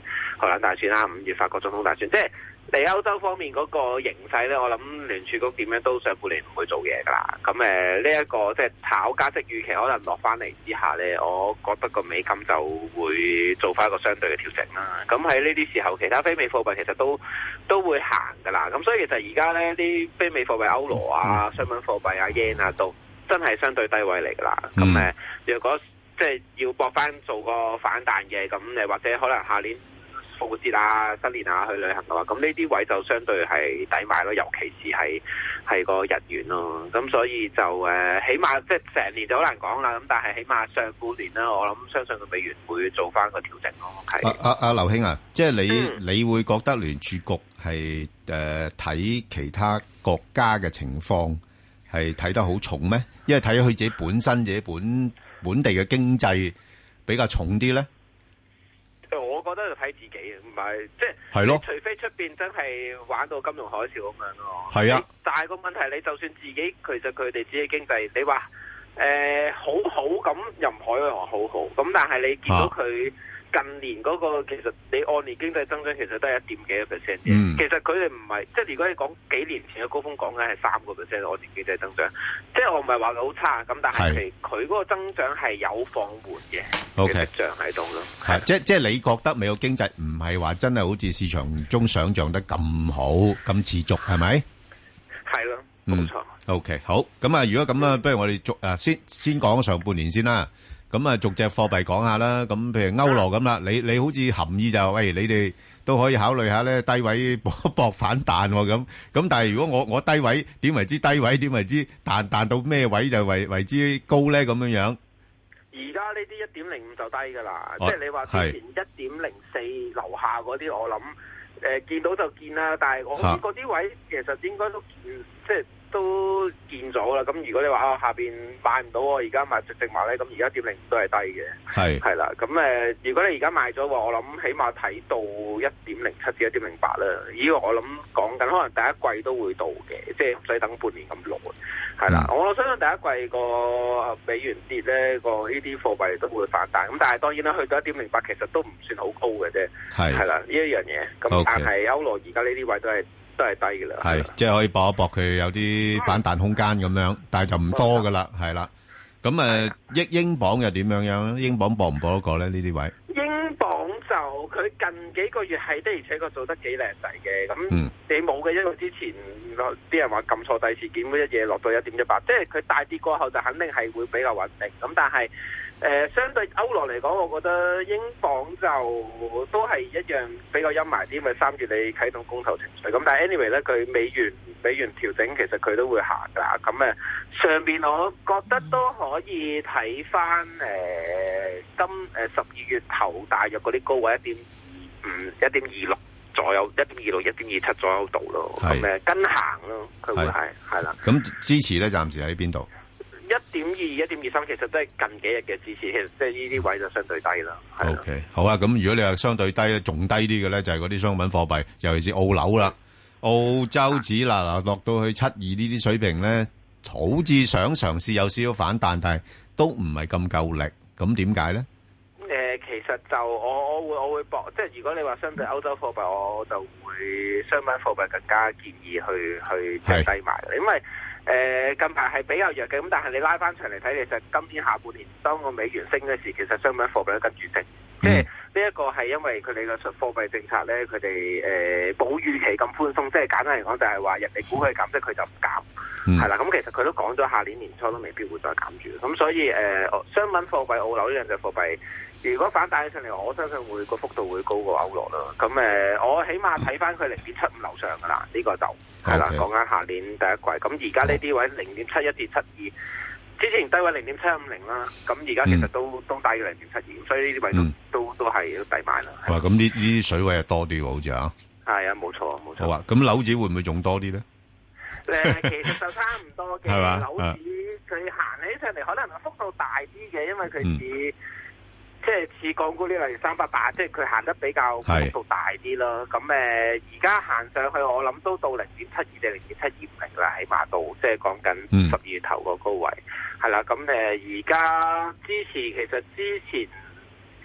荷蘭大選啦，五月法國總統大選，即係嚟歐洲方面嗰個形勢咧，我諗聯儲局點樣都上半年唔會做嘢噶啦。咁誒呢一個即係炒加息預期可能落翻嚟之下咧，我覺得個美金就會做翻一個相對嘅調整啦。咁喺呢啲時候，其他非美貨幣其實都都會行噶啦。咁所以其實而家咧啲非美貨幣歐羅啊、商品貨幣啊、yen 啊，都真係相對低位嚟噶啦。咁誒、嗯，若果即係要搏翻做個反彈嘅，咁誒或者可能下年復活節啊、新年啊去旅行嘅話，咁呢啲位就相對係抵買咯，尤其是係係個日元咯。咁所以就誒、呃，起碼即係成年就好難講啦。咁但係起碼上半年啦，我諗相信個美元會做翻個調整咯。係
啊啊啊，劉兄啊，即係你、嗯、你會覺得聯儲局係誒睇其他國家嘅情況係睇得好重咩？因為睇佢自己本身自己本本地嘅經濟比較重啲咧。
我覺得就睇自己，唔係即係，
係咯，
除非出邊真係玩到金融海嘯咁樣咯。
係啊，
但係個問題，你就算自己其實佢哋自己經濟，你話誒、呃、好好咁，又唔可以話好好咁，但係你見到佢。啊近年嗰個其實你按年經濟增長其實都係一點幾個 percent 嘅，其實佢哋唔係即係如果你講幾年前嘅高峰講緊係三個 percent 按年經濟增長，即係我唔係話佢好差咁，但係佢嗰個增長係有放緩嘅嘅跡象喺度咯。
係即即係你覺得美國經濟唔係話真係好似市場中想像得咁好咁持續係咪？
係咯，冇錯。
OK， 好咁啊！如果咁啊，不如我哋逐啊先先講上半年先啦。咁啊，逐隻貨幣講下啦。咁譬如歐羅咁啦，你你好似含義就喂，你哋都可以考慮下咧，低位搏搏反彈咁。咁但係如果我我低位點為之低位，點為之彈彈到咩位就為為之高咧？咁樣樣。
而家呢啲一點零五就低噶啦，即係你話之前一點零四樓下嗰啲，我諗誒見到就見啦。但係我諗嗰啲位其實應該都見，即係。都見咗啦，咁如果你話啊下邊買唔到，我而家買直直買咧，咁而家一點零五都係低嘅，係係啦，咁誒、呃，如果你而家買咗話，我諗起碼睇到一點零七至一點零八啦，呢個我諗講緊可能第一季都會到嘅，即係唔使等半年咁耐，係啦，嗯、我相信第一季個美元跌咧，個呢啲貨幣都會反彈，咁但係當然啦，去到一點零八其實都唔算好高嘅啫，係係啦呢一樣嘢，咁、okay. 但係歐羅而家呢啲位都係。都係低嘅啦，係
即係可以搏一搏佢有啲反彈空間咁樣，但係就唔多噶啦，係啦。咁誒，英英鎊又點樣樣咧？英鎊搏唔搏得過咧？呢啲位？
英鎊就佢近幾個月係的而且確做得幾靚仔嘅。咁你冇嘅，因為之前啲人話撳錯第事件，一嘢落到一點一八，即係佢大跌過後就肯定係會比較穩定。咁但係。誒、呃，相對歐羅嚟講，我覺得英鎊就都係一樣比較陰霾啲，因為三月你啟動公投程序。咁但係 anyway 咧，佢美元美元調整，其實佢都會行噶。咁誒，上邊我覺得都可以睇翻誒今誒十二月頭大約嗰啲高位一點二五、一點二六左右，一點二六、一點二七左右度咯。咁誒跟行咯，佢會係係啦。
咁支持咧，暫時喺邊度？
一點二、一點二三，其實都係近幾日嘅支持，其實即係呢啲位就相對低啦。
O K， 好啊。咁如果你話相對低咧，仲低啲嘅咧，就係嗰啲商品貨幣，尤其是澳樓啦。澳洲紙嗱嗱落到去七二呢啲水平咧，好似想嘗試有少少反彈，但係都唔係咁夠力。咁點解咧？
誒、呃，其實就我我會我會博，即係如果你話相對歐洲貨幣，我就會商品貨幣更加建議去去即係低買，因為。誒、呃，近排係比較弱嘅，咁但係你拉翻長嚟睇，其實今年下半年當個美元升嘅時，其實商品貨幣都跟住升，嗯、即係呢一個係因為佢哋嘅貨幣政策咧，佢哋誒冇預期咁寬鬆，即係簡單嚟講就係話人哋估佢減息，佢就唔減，係啦。咁、嗯、其實佢都講咗下年年初都未必會再減住，咁所以誒、呃，商品貨幣澳樓呢兩隻貨幣。如果反彈起上嚟，我相信會個幅度會高過歐羅啦。咁誒、呃，我起碼睇翻佢零點七五樓上噶啦，呢、這個就係啦。講緊下年第一季。咁而家呢啲位零點七一至七二，之前低位零點七五零啦。咁而家其實都、嗯、都低嘅零點七二，所以呢啲位都、嗯、都都係要抵買啦。
哇！咁呢呢啲水位係多啲喎，好似啊。係
啊，冇錯冇錯。
好啊，咁樓指會唔會仲多啲咧？
誒，其實就差唔多嘅。樓指佢行起上嚟，可能幅度大啲嘅，因為佢似。嗯即係似港股呢類三百八，即係佢行得比較幅度大啲咯。咁誒，而家行上去，我諗都到零點七二定零點七二五零啦，起碼到即係講緊十二月頭個高位係啦。咁誒，而家支持其實之前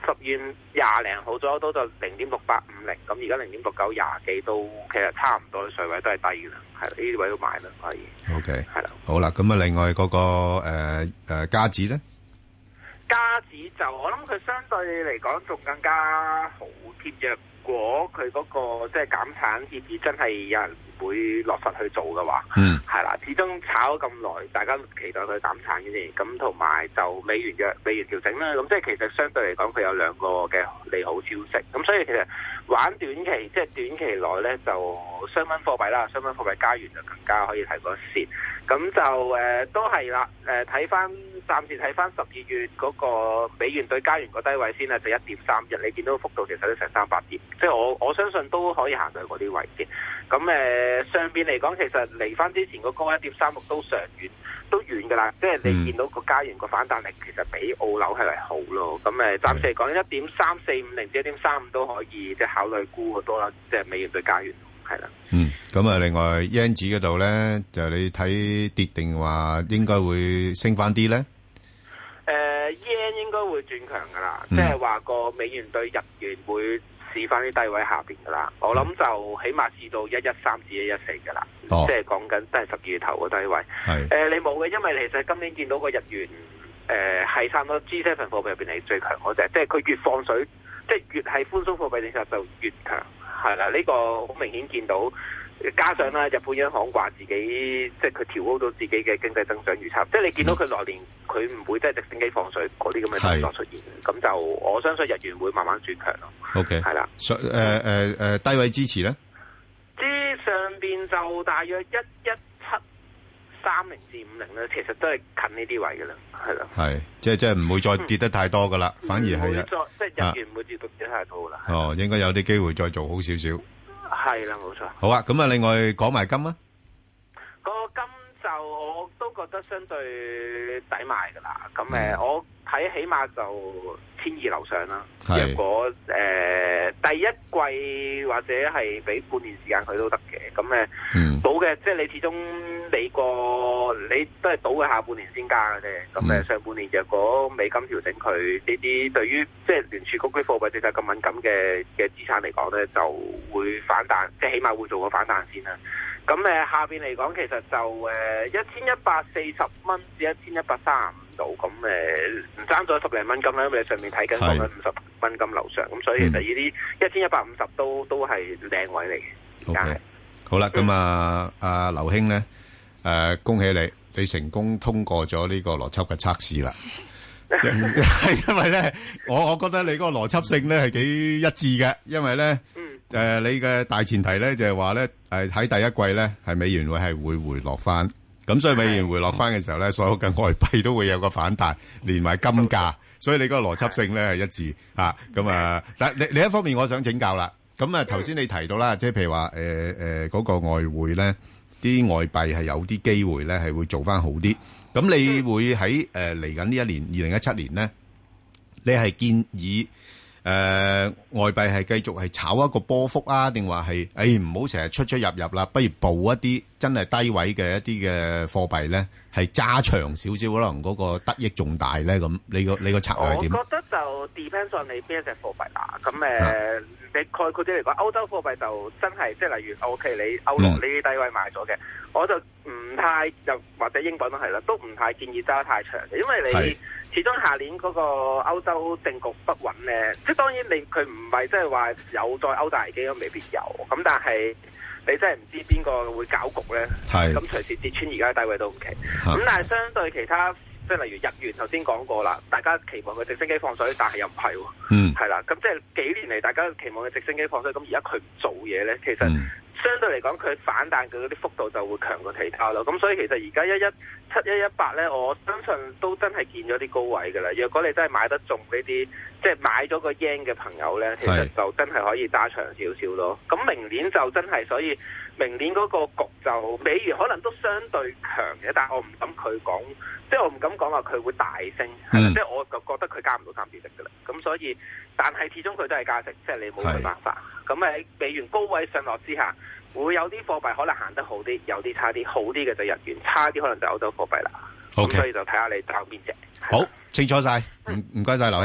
十月廿零號左右都就零點六八五零，咁而家零點六九廿幾都其實差唔多，水位都係低嘅啦，係啦，呢啲位都買啦可以。
O K，
係啦，
好啦，咁啊，另外嗰、那個誒誒加指咧，
加指就我諗佢相對嚟講仲更加好貼嘅。如果佢嗰、那個即係減產協議真係有人會落實去做嘅話，嗯，係啦，始終炒咗咁耐，大家期待佢減產嘅啫。咁同埋就美元嘅美元調整啦，咁即係其實相對嚟講，佢有兩個嘅利好消息。咁所以其實玩短期即係短期內咧，就商品貨幣啦，商品貨幣加元就更加可以提個線。咁就誒、呃、都係啦，誒睇翻暫時睇翻十二月嗰個美元對加元個低位先啦，就一點三一，你見到幅度其實都成三百點，即係我我相信都可以行到嗰啲位嘅。咁誒、呃、上邊嚟講，其實嚟翻之前個高一點三六都上遠，都遠㗎啦。即係你見到個加元個反彈力其實比澳紐係為好咯。咁誒暫時嚟講，一點三四五零至一點三五都可以即係考慮沽好多啦，即係美元對加元係啦。
嗯，咁啊，另外 yen 指嗰度咧，就你睇跌定話應該會升翻啲咧？
誒 yen 應該會轉強㗎啦，即係話個美元對日元會試翻啲低位下邊㗎啦。我諗就起碼試到一一三至一一四㗎啦，即係講緊都係十二月頭個低位。係誒、呃，你冇嘅，因為其實今年見到個日元誒係差唔多 G 七 貨幣入邊係最強嗰隻，即係佢越放水，即係越係寬鬆貨幣政策就越強。係啦，呢、這個好明顯見到，加上啦，日本央行話自己即係佢調高到自己嘅經濟增長預測，即係你見到佢來年佢唔會即係直升機放水嗰啲咁嘅動作出現，咁就我相信日元會慢慢轉強咯。
O K， 係啦，誒誒誒低位支持咧？
之上邊就大約一一七三零至五零咧，其實都係近呢啲位嘅啦，係啦。係，即係即係唔會再跌得太多噶啦，嗯、反而係啊， 即係日元唔會跌到跌太多噶啦。
哦，應該有啲機會再做好少少。
係啦，冇錯。
好啊，咁啊，另外講埋金啊。
個金就我都覺得相對抵買噶啦。咁誒、嗯，我睇起碼就千二樓上啦。如果誒、呃、第一季或者係俾半年時間佢都得嘅。咁誒，嗯、賭嘅即係你始終美國你都係賭嘅下半年先加嘅啫。咁誒、嗯、上半年若果美金調整，佢呢啲對於即係聯儲局啲貨幣政策咁敏感嘅嘅資產嚟講咧，就會反彈，即係起碼會做個反彈先啦。咁誒下邊嚟講，其實就誒一千一百四十蚊至一千一百三十五度，咁誒唔爭咗十零蚊金啦，因為你上面睇緊講緊五十蚊金樓上，咁所以其實呢啲一千一百五十都都係靚位嚟嘅。
O K，好啦，咁啊，阿劉兄咧，誒恭喜你，你成功通過咗呢個邏輯嘅測試啦。係因為咧，我我覺得你嗰個邏輯性咧係幾一致嘅，因為咧。誒、呃，你嘅大前提咧就係話咧，誒喺第一季咧係美元會係會回落翻，咁所以美元回落翻嘅時候咧，所有嘅外幣都會有個反彈，連埋金價，所以你嗰個邏輯性咧係一致吓，咁啊，但另另一方面我想請教啦，咁啊頭先你提到啦，即係譬如話誒誒嗰個外匯咧，啲外幣係有啲機會咧係會做翻好啲，咁你會喺誒嚟緊呢一年二零一七年咧，你係建議？誒、呃，外幣係繼續係炒一個波幅啊，定話係誒唔好成日出出入入啦，不如報一啲真係低位嘅一啲嘅貨幣咧，係揸長少少，可能嗰個得益仲大咧。咁你個你個策略係點？我覺得就 depends on 你邊一隻貨幣啦。咁誒，呃啊、你概括啲嚟講，歐洲貨幣就真係即係例如 OK，你歐羅呢啲低位買咗嘅，嗯、我就唔太又或者英鎊都係啦，都唔太建議揸太長嘅，因為你。始終下年嗰個歐洲政局不穩咧，即係當然你佢唔係即係話有再歐債危機都未必有，咁但係你真係唔知邊個會搞局咧，咁隨時跌穿而家低位都唔奇。咁但係相對其他即係例如日元頭先講過啦，大家期望佢直升機放水，但係又唔係喎，嗯，係啦，咁即係幾年嚟大家期望佢直升機放水，咁而家佢唔做嘢咧，其實。嗯相對嚟講，佢反彈嘅嗰啲幅度就會強過其他咯。咁所以其實而家一一七一一八咧，我相信都真係見咗啲高位㗎啦。若果你真係買得中呢啲，即係買咗個 yen 嘅朋友咧，其實就真係可以揸長少少咯。咁明年就真係，所以明年嗰個局就美元可能都相對強嘅，但係我唔敢佢講，即係我唔敢講話佢會大升，係啦、嗯。即係我就覺得佢加唔到三點息㗎啦。咁所以，但係始終佢都係加息，即係你冇辦法。咁喺美元高位上落之下，會有啲貨幣可能行得好啲，有啲差啲，好啲嘅就日元，差啲可能就歐洲貨幣啦。咁 Okay. 所以就睇下你找邊隻。 好，清楚晒，唔唔該晒劉兄。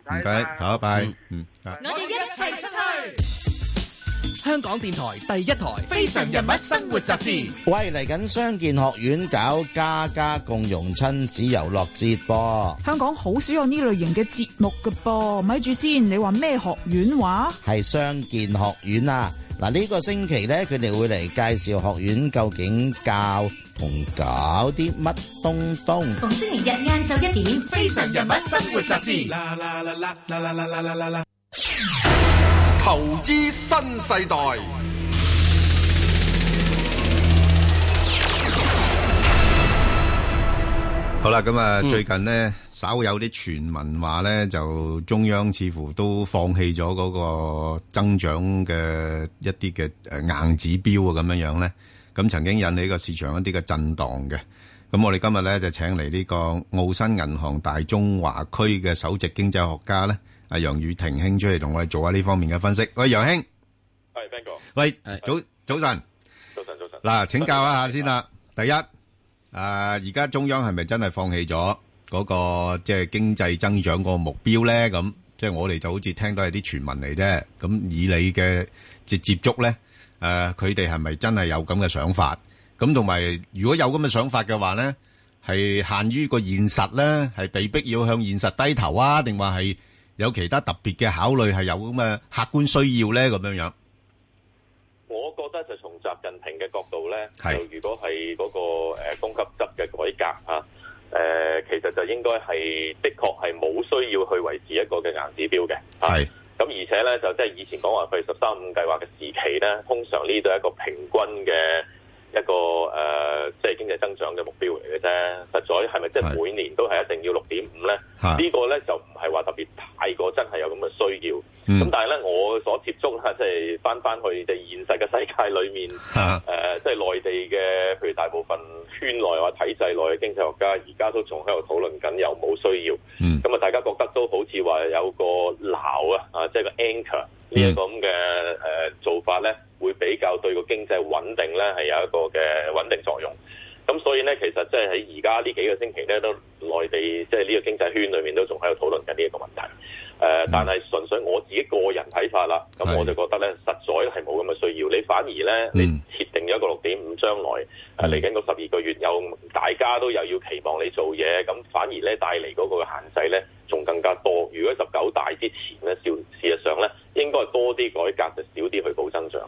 唔該，好，拜。嗯，
我哋一齊出去。香港電台第一台《非常人物生活雜誌》。
喂，嚟緊傷健學院搞家家共融親子遊樂節噃。
香港好少有呢類型嘅節目㗎噃。咪住先，你話咩學院話？
係傷健學院啊！嗱，呢個星期咧，佢哋會嚟介紹學院究竟教同搞啲乜東東。
逢星期日晏晝一點，《非常人物生活雜誌》。啦啦啦啦啦啦啦啦啦啦！
投資新世代。
好啦，咁啊，最近呢，稍有啲傳聞話咧，就中央似乎都放棄咗嗰個增長嘅一啲嘅誒硬指標啊，咁樣樣咧，咁曾經引起個市場一啲嘅震盪嘅。咁我哋今日咧就請嚟呢個澳新銀行大中華區嘅首席經濟學家咧，阿楊宇霆兄出嚟同我哋做下呢方面嘅分析。喂，楊兄，
係 Ben 哥，
喂，早早晨，
早晨早晨。
嗱，請教一下先啦。第一，誒而家中央係咪真係放棄咗嗰個即係經濟增長個目標咧？咁即係我哋就好似聽到係啲傳聞嚟啫。咁以你嘅接接觸咧，誒佢哋係咪真係有咁嘅想法？咁同埋如果有咁嘅想法嘅話咧，係限於個現實咧，係被逼要向現實低頭啊，定話係有其他特別嘅考慮，係有咁嘅客觀需要咧？咁樣樣，
我覺得就從習近平嘅角度咧，就如果係嗰個誒供給側嘅改革啊，誒其實就應該係的確係冇需要去維持一個嘅硬指標嘅。係咁，而且咧就即係以前講話佢十三五計劃嘅時期咧，通常呢度係一個平均嘅一個誒、呃，即係經濟增長嘅目標嚟嘅啫。實在係咪即係每年都係一定要六點五咧？呢個咧就唔係話特別太過真係有咁嘅需要。咁、嗯、但係咧，我所接觸啦，即係翻翻去即係現實嘅世界裏面，誒、呃，即係內地嘅，譬如大部分圈內或體制內嘅經濟學家，而家都仲喺度討論緊有冇需要。咁、嗯、啊，大家覺得都好似話有個錨啊，啊，即係個 anchor。呢一個咁嘅誒做法咧，會比較對個經濟穩定咧係有一個嘅穩定作用。咁所以咧，其實即係喺而家呢幾個星期咧，都內地即係呢個經濟圈裏面都仲喺度討論緊呢一個問題。誒、呃，但係純粹我自己個人睇法啦，咁我就覺得咧，實在係冇咁嘅需要。你反而咧，你設定咗一個六點五，將來誒嚟緊嗰十二個月有大家都又要期望你做嘢，咁反而咧帶嚟嗰個限制咧，仲更加多。如果十九大之前咧，事事實上咧，應該係多啲改革，就少啲去保增長。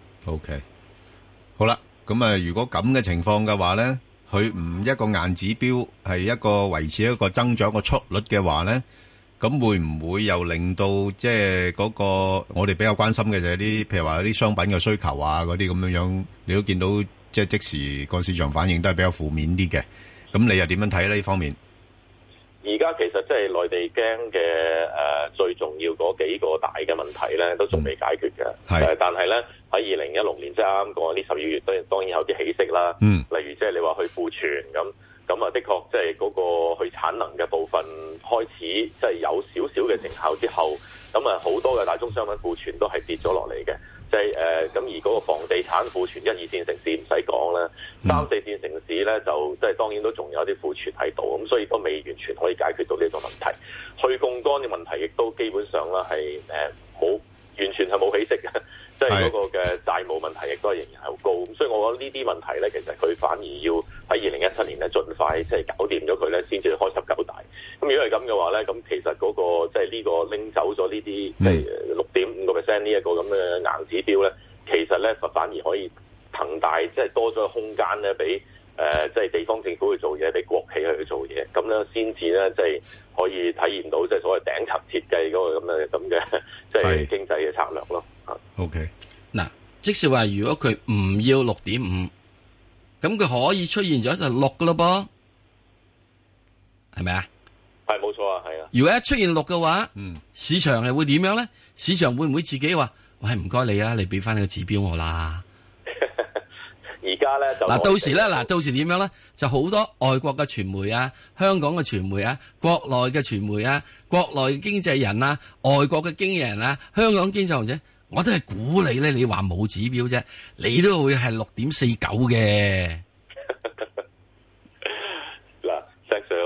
OK， 好啦，咁啊，如果咁嘅情況嘅話咧，佢唔一個硬指標，係一個維持一個增長個速率嘅話咧，咁會唔會又令到即係嗰個我哋比較關心嘅就係啲，譬如話啲商品嘅需求啊，嗰啲咁樣樣，你都見到即係即時個市場反應都係比較負面啲嘅。咁你又點樣睇呢方面？
而家其實即係內地驚嘅誒最重要嗰幾個大嘅問題咧，都仲未解決嘅。係、嗯，但係咧喺二零一六年即係啱啱過呢十二月，當然當然有啲起色啦。嗯，例如即係你話去庫存咁，咁啊的確即係嗰個去產能嘅部分開始即係有少少嘅成效之後，咁啊好多嘅大宗商品庫存都係跌咗落嚟嘅。即係誒咁而嗰個房地產庫存一二線城市唔使講啦，三四線城市咧就即係當然都仲有啲庫存喺度，咁所以都未完全可以解決到呢個問題。去槓桿嘅問題亦都基本上啦係誒冇完全係冇起色嘅，即係嗰個嘅債務問題亦都係仍然係好高。咁所以我覺得呢啲問題咧，其實佢反而要喺二零一七年咧盡快即係搞掂咗佢咧，先至開十九大。咁如果係咁嘅話咧，咁其實嗰、那個即係呢個拎走咗呢啲即係六點五個 percent 呢一個咁嘅硬指標咧，其實咧反而可以騰大即係多咗個空間咧，俾誒即係地方政府去做嘢，俾國企去做嘢，咁咧先至咧即係可以體驗到即係所謂頂層設計嗰個咁嘅咁嘅即係經濟嘅策略咯。
OK，
嗱，即是話如果佢唔要六點五，咁佢可以出現咗就六噶咯噃，係咪啊？
係冇錯啊，係啊。
如果一出現六嘅話，嗯，市場係會點樣咧？市場會唔會自己話，喂，唔該你啊，你俾翻你個指標我啦？
而家咧就
嗱，到時咧，嗱，到時點樣咧？就好多外國嘅傳媒啊，香港嘅傳媒啊，國內嘅傳媒啊，國內嘅經濟人啊，外國嘅經紀人啊，香港經濟學者，我都係估你咧。你話冇指標啫，你都會係六點四九嘅。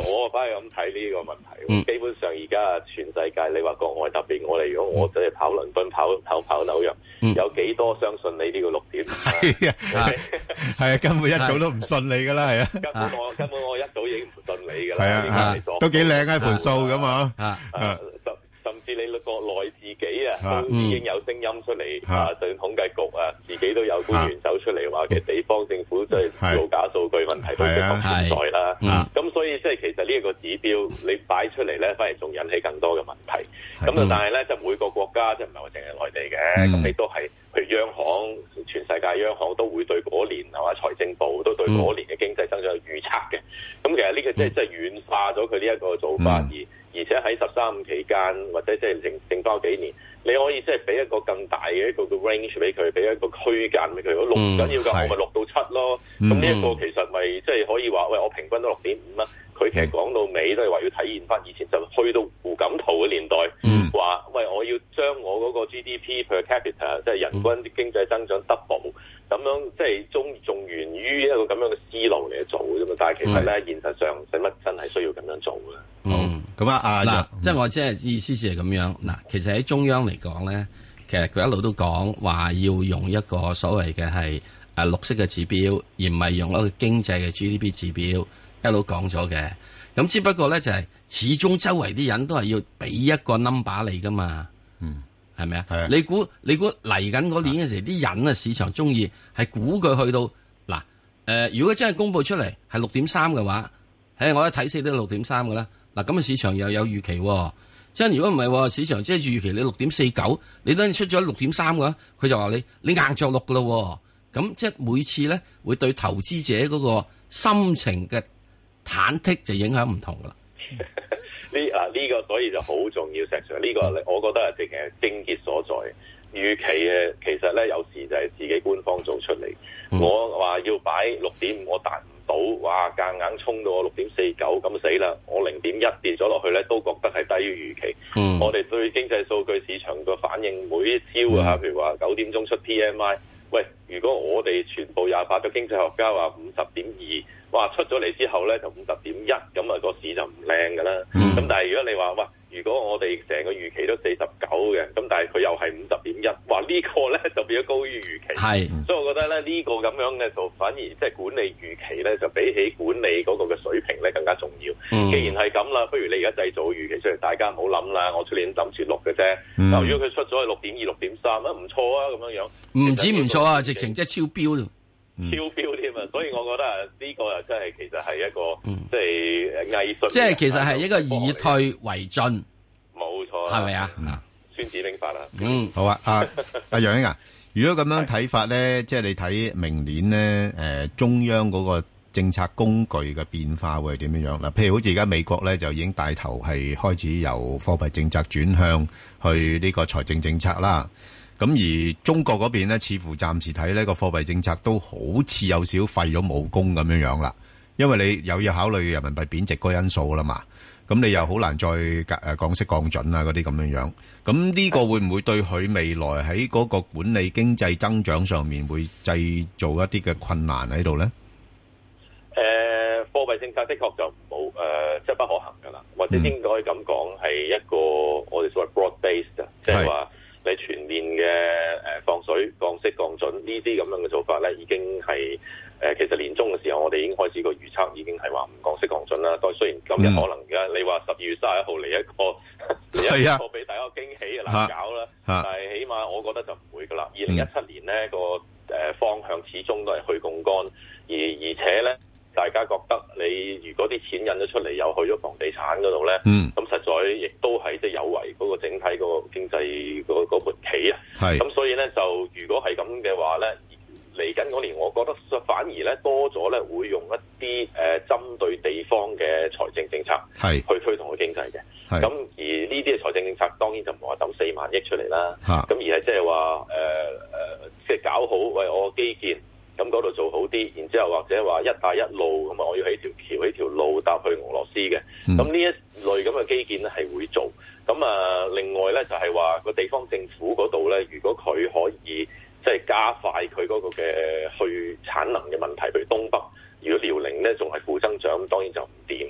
我反而咁睇呢個問題。
嗯、
基本上而家全世界，你話國外特別我哋，如果我真係跑倫敦、跑跑跑紐約，嗯、有幾多相信你呢個六點？
係啊，係啊，根本一早都唔信你噶啦，係啊。
根本我根本我一早已經唔信你噶啦。
係啊，都幾靚啊盤數咁啊。
啊啊甚至你國內自己啊，都已經有聲音出嚟啊，就統計局啊，自己都有官員走出嚟話，其實地方政府即係造假數據問題都的確存在啦。咁所以即係其實呢一個指標你擺出嚟咧，反而仲引起更多嘅問題。咁啊，但係咧就每個國家即係唔係話淨係內地嘅，咁亦都係譬如央行，全世界央行都會對嗰年係嘛財政部都對嗰年嘅經濟增長有預測嘅。咁其實呢個即係即係軟化咗佢呢一個做法而。而且喺十三五期間，或者即係剩剩翻幾年，你可以即係俾一個更大嘅一個嘅 range 俾佢，俾一個區間俾佢。如果六唔緊要㗎，我咪六到七咯。咁呢一個其實咪即係可以話，喂，我平均都六點五啦。佢其實講到尾都係話要體現翻以前就去到胡錦濤嘅年代，話、嗯、喂，我要將我嗰個 G D P per capita 即係人均經濟增長 double，咁樣即係仲仲源於一個咁樣嘅思路嚟做嘅啫嘛。但係其實咧，現實上使乜真係需要咁樣做嘅？
嗯，
咁啊，啊
嗱，即係我即係意思係咁樣嗱。其實喺中央嚟講咧，其實佢一路都講話要用一個所謂嘅係誒綠色嘅指標，而唔係用一個經濟嘅 G D P 指標。一路講咗嘅，咁只不過咧就係、是、始終周圍啲人都係要俾一個 number 你噶嘛，嗯，係咪啊？你估你估嚟緊嗰年嘅時，啲人啊市場中意係估佢去到嗱，誒、呃，如果真係公佈出嚟係六點三嘅話，誒，我一睇死都六點三嘅啦。嗱，咁啊市場又有預期、哦，即係如果唔係市場即係預期你六點四九，你等出咗六點三嘅話，佢就話你你硬着陸噶咯，咁即係每次咧會對投資者嗰個心情嘅忐忑就影響唔同啦。
呢啊呢個所以就好重要，石 Sir 呢個我覺得係直情係症結所在。預期嘅其實咧有時就係自己官方做出嚟。嗯、我話要擺六點五，我達唔到，哇！夾硬衝到我六點四九，咁死啦！我零點一跌咗落去咧，都覺得係低於預期。嗯、我哋對經濟數據市場個反應每一朝啊，譬如話九點鐘出 P M I， 喂，如果我哋全部廿八個經濟學家話五十點二。哇！出咗嚟之後咧就五十點一，咁啊個市就唔靚㗎啦。咁、嗯、但係如果你話哇，如果我哋成個預期都四十九嘅，咁但係佢又係五十點一，哇！呢、呢個咧就變咗高於預期。係，所以我覺得咧呢、呢個咁樣嘅就反而即係管理預期咧，就比起管理嗰個嘅水平咧更加重要。嗯、既然係咁啦，不如你而家製造預期出嚟，大家唔好諗啦。我出年諗住六嘅啫。嗱、嗯，如果佢出咗去六點二、六點三啊，唔錯啊，咁樣樣。唔止唔錯啊，直情即係超標。超標添啊！所以我覺得啊，呢個又真係其實係一個、嗯、即係藝術。即係其實係一個以退為進，冇錯，係咪啊？孫子兵法啦。
嗯，好啊，阿阿楊英啊，如果咁樣睇法咧，即係你睇明年咧，誒、呃、中央嗰個政策工具嘅變化會係點樣樣嗱？譬如好似而家美國咧就已經帶頭係開始由貨幣政策轉向去呢個財政政策啦。咁而中國嗰邊咧，似乎暫時睇呢個貨幣政策都好似有少廢咗武功咁樣樣啦，因為你又要考慮人民幣貶值嗰個因素啦嘛，咁你又好難再誒降息降準啊嗰啲咁樣樣，咁呢個會唔會對佢未來喺嗰個管理經濟增長上面會製造一啲嘅困難喺度咧？
誒、呃，貨幣政策的確就冇誒，即係不可行噶啦，或者應該咁講係一個我哋所謂 broad based， 即係話。你全面嘅誒放水、降息、降準呢啲咁樣嘅做法咧，已經係誒、呃、其實年中嘅時候，我哋已經開始個預測，已經係話唔降息降準啦。當然雖然今日可能而家你話十二月三十一號嚟一個嚟、嗯、一個俾大家驚喜嘅難搞啦，但係起碼我覺得就唔會噶啦。二零一七年咧個誒方向始終都係去槓桿，而而且咧。大家覺得你如果啲錢印咗出嚟，又去咗房地產嗰度咧，咁、嗯、實在亦都係即係有違嗰個整體嗰個經濟嗰嗰盤棋啊。咁所以咧就如果係咁嘅話咧，嚟緊嗰年，我覺得反而咧多咗咧會用一啲誒、呃、針對地方嘅財政政策去推動個經濟嘅。咁而呢啲嘅財政政策當然就唔係話抌四萬億出嚟啦，咁而係即係話誒誒，即係搞好喂我基建。咁嗰度做好啲，然之後或者話一帶一路咁啊，我要起條橋、起條路搭去俄羅斯嘅。咁呢、嗯、一類咁嘅基建咧係會做。咁啊，另外咧就係話個地方政府嗰度咧，如果佢可以即係加快佢嗰個嘅去產能嘅問題，譬如東北，如果遼寧咧仲係負增長，咁當然就唔掂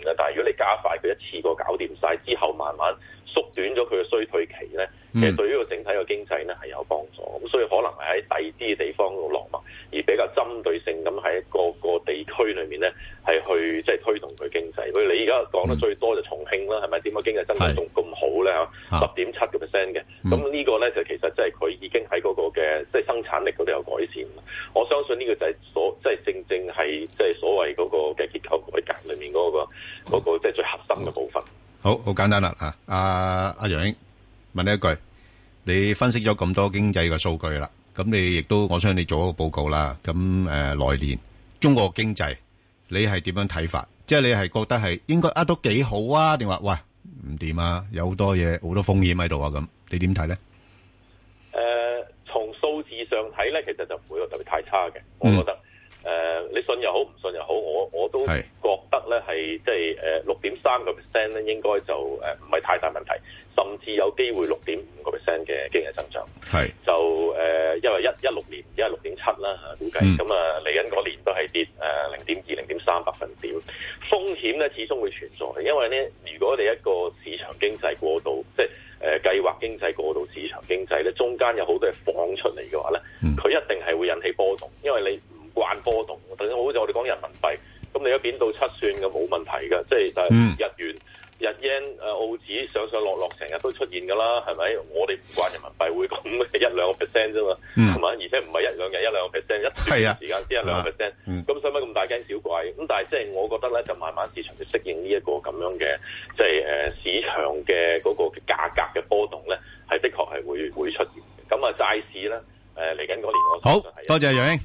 啦。但係如果你加快佢一次過搞掂晒之後，慢慢縮短咗佢嘅衰退期咧，其實對於個整體嘅經濟咧係有幫助。咁所以可能係喺第二啲地方度落墨，而比較針對性咁喺個個地區裏面咧係去即係推動佢經濟。譬如你而家講得最多就重慶啦，係咪點解經濟增長仲咁好咧？嚇，十點七個 percent 嘅。咁呢個咧就其實即係佢已經喺嗰個嘅即係生產力嗰度有改善。我相信呢個就係所即係正正係即係所謂嗰個嘅結構改革裏面嗰個嗰個即係最核心嘅部分。
好好簡單啦嚇，阿阿楊英問你一句，你分析咗咁多經濟嘅數據啦，咁你亦都我相信你做一個報告啦。咁誒來年中國經濟你係點樣睇法？即係你係覺得係應該啊都幾好啊，定話喂唔掂啊？有好多嘢好多風險喺度啊，咁你點睇咧？
誒，從數字上睇咧，其實就唔會特別太差嘅，我覺得。誒、呃，你信又好，唔信又好，我我都覺得咧係即係誒六點三個 percent 咧，應該就誒唔係太大問題，甚至有機會六點五個 percent 嘅經濟增長。係就誒、呃，因為一一六年而家六點七啦嚇，估計咁啊嚟緊嗰年都係跌誒零點二、零點三百分點。風險咧始終會存在，因為咧如果你一個市場經濟過度，即係誒計劃經濟過度市場經濟咧，中間有好多嘢放出嚟嘅話咧，佢、嗯、一定係會引起波動，因為你慣波動，等於好似我哋講人民幣，咁你一貶到七算嘅冇問題嘅，即係但係日元、日 yen 誒澳紙上上落落成日都出現㗎啦，係咪？我哋唔慣人民幣會咁一兩個 percent 啫嘛，係嘛、嗯？而且唔係一兩日一兩個 percent， 一段時間先一兩個 percent，咁使乜咁大驚小怪？咁但係即係我覺得咧，就慢慢市場去適應呢一個咁樣嘅，即係誒市場嘅嗰個價格嘅波動咧，係的確係會會出現。咁啊債市咧誒嚟緊嗰年我
好多謝楊英。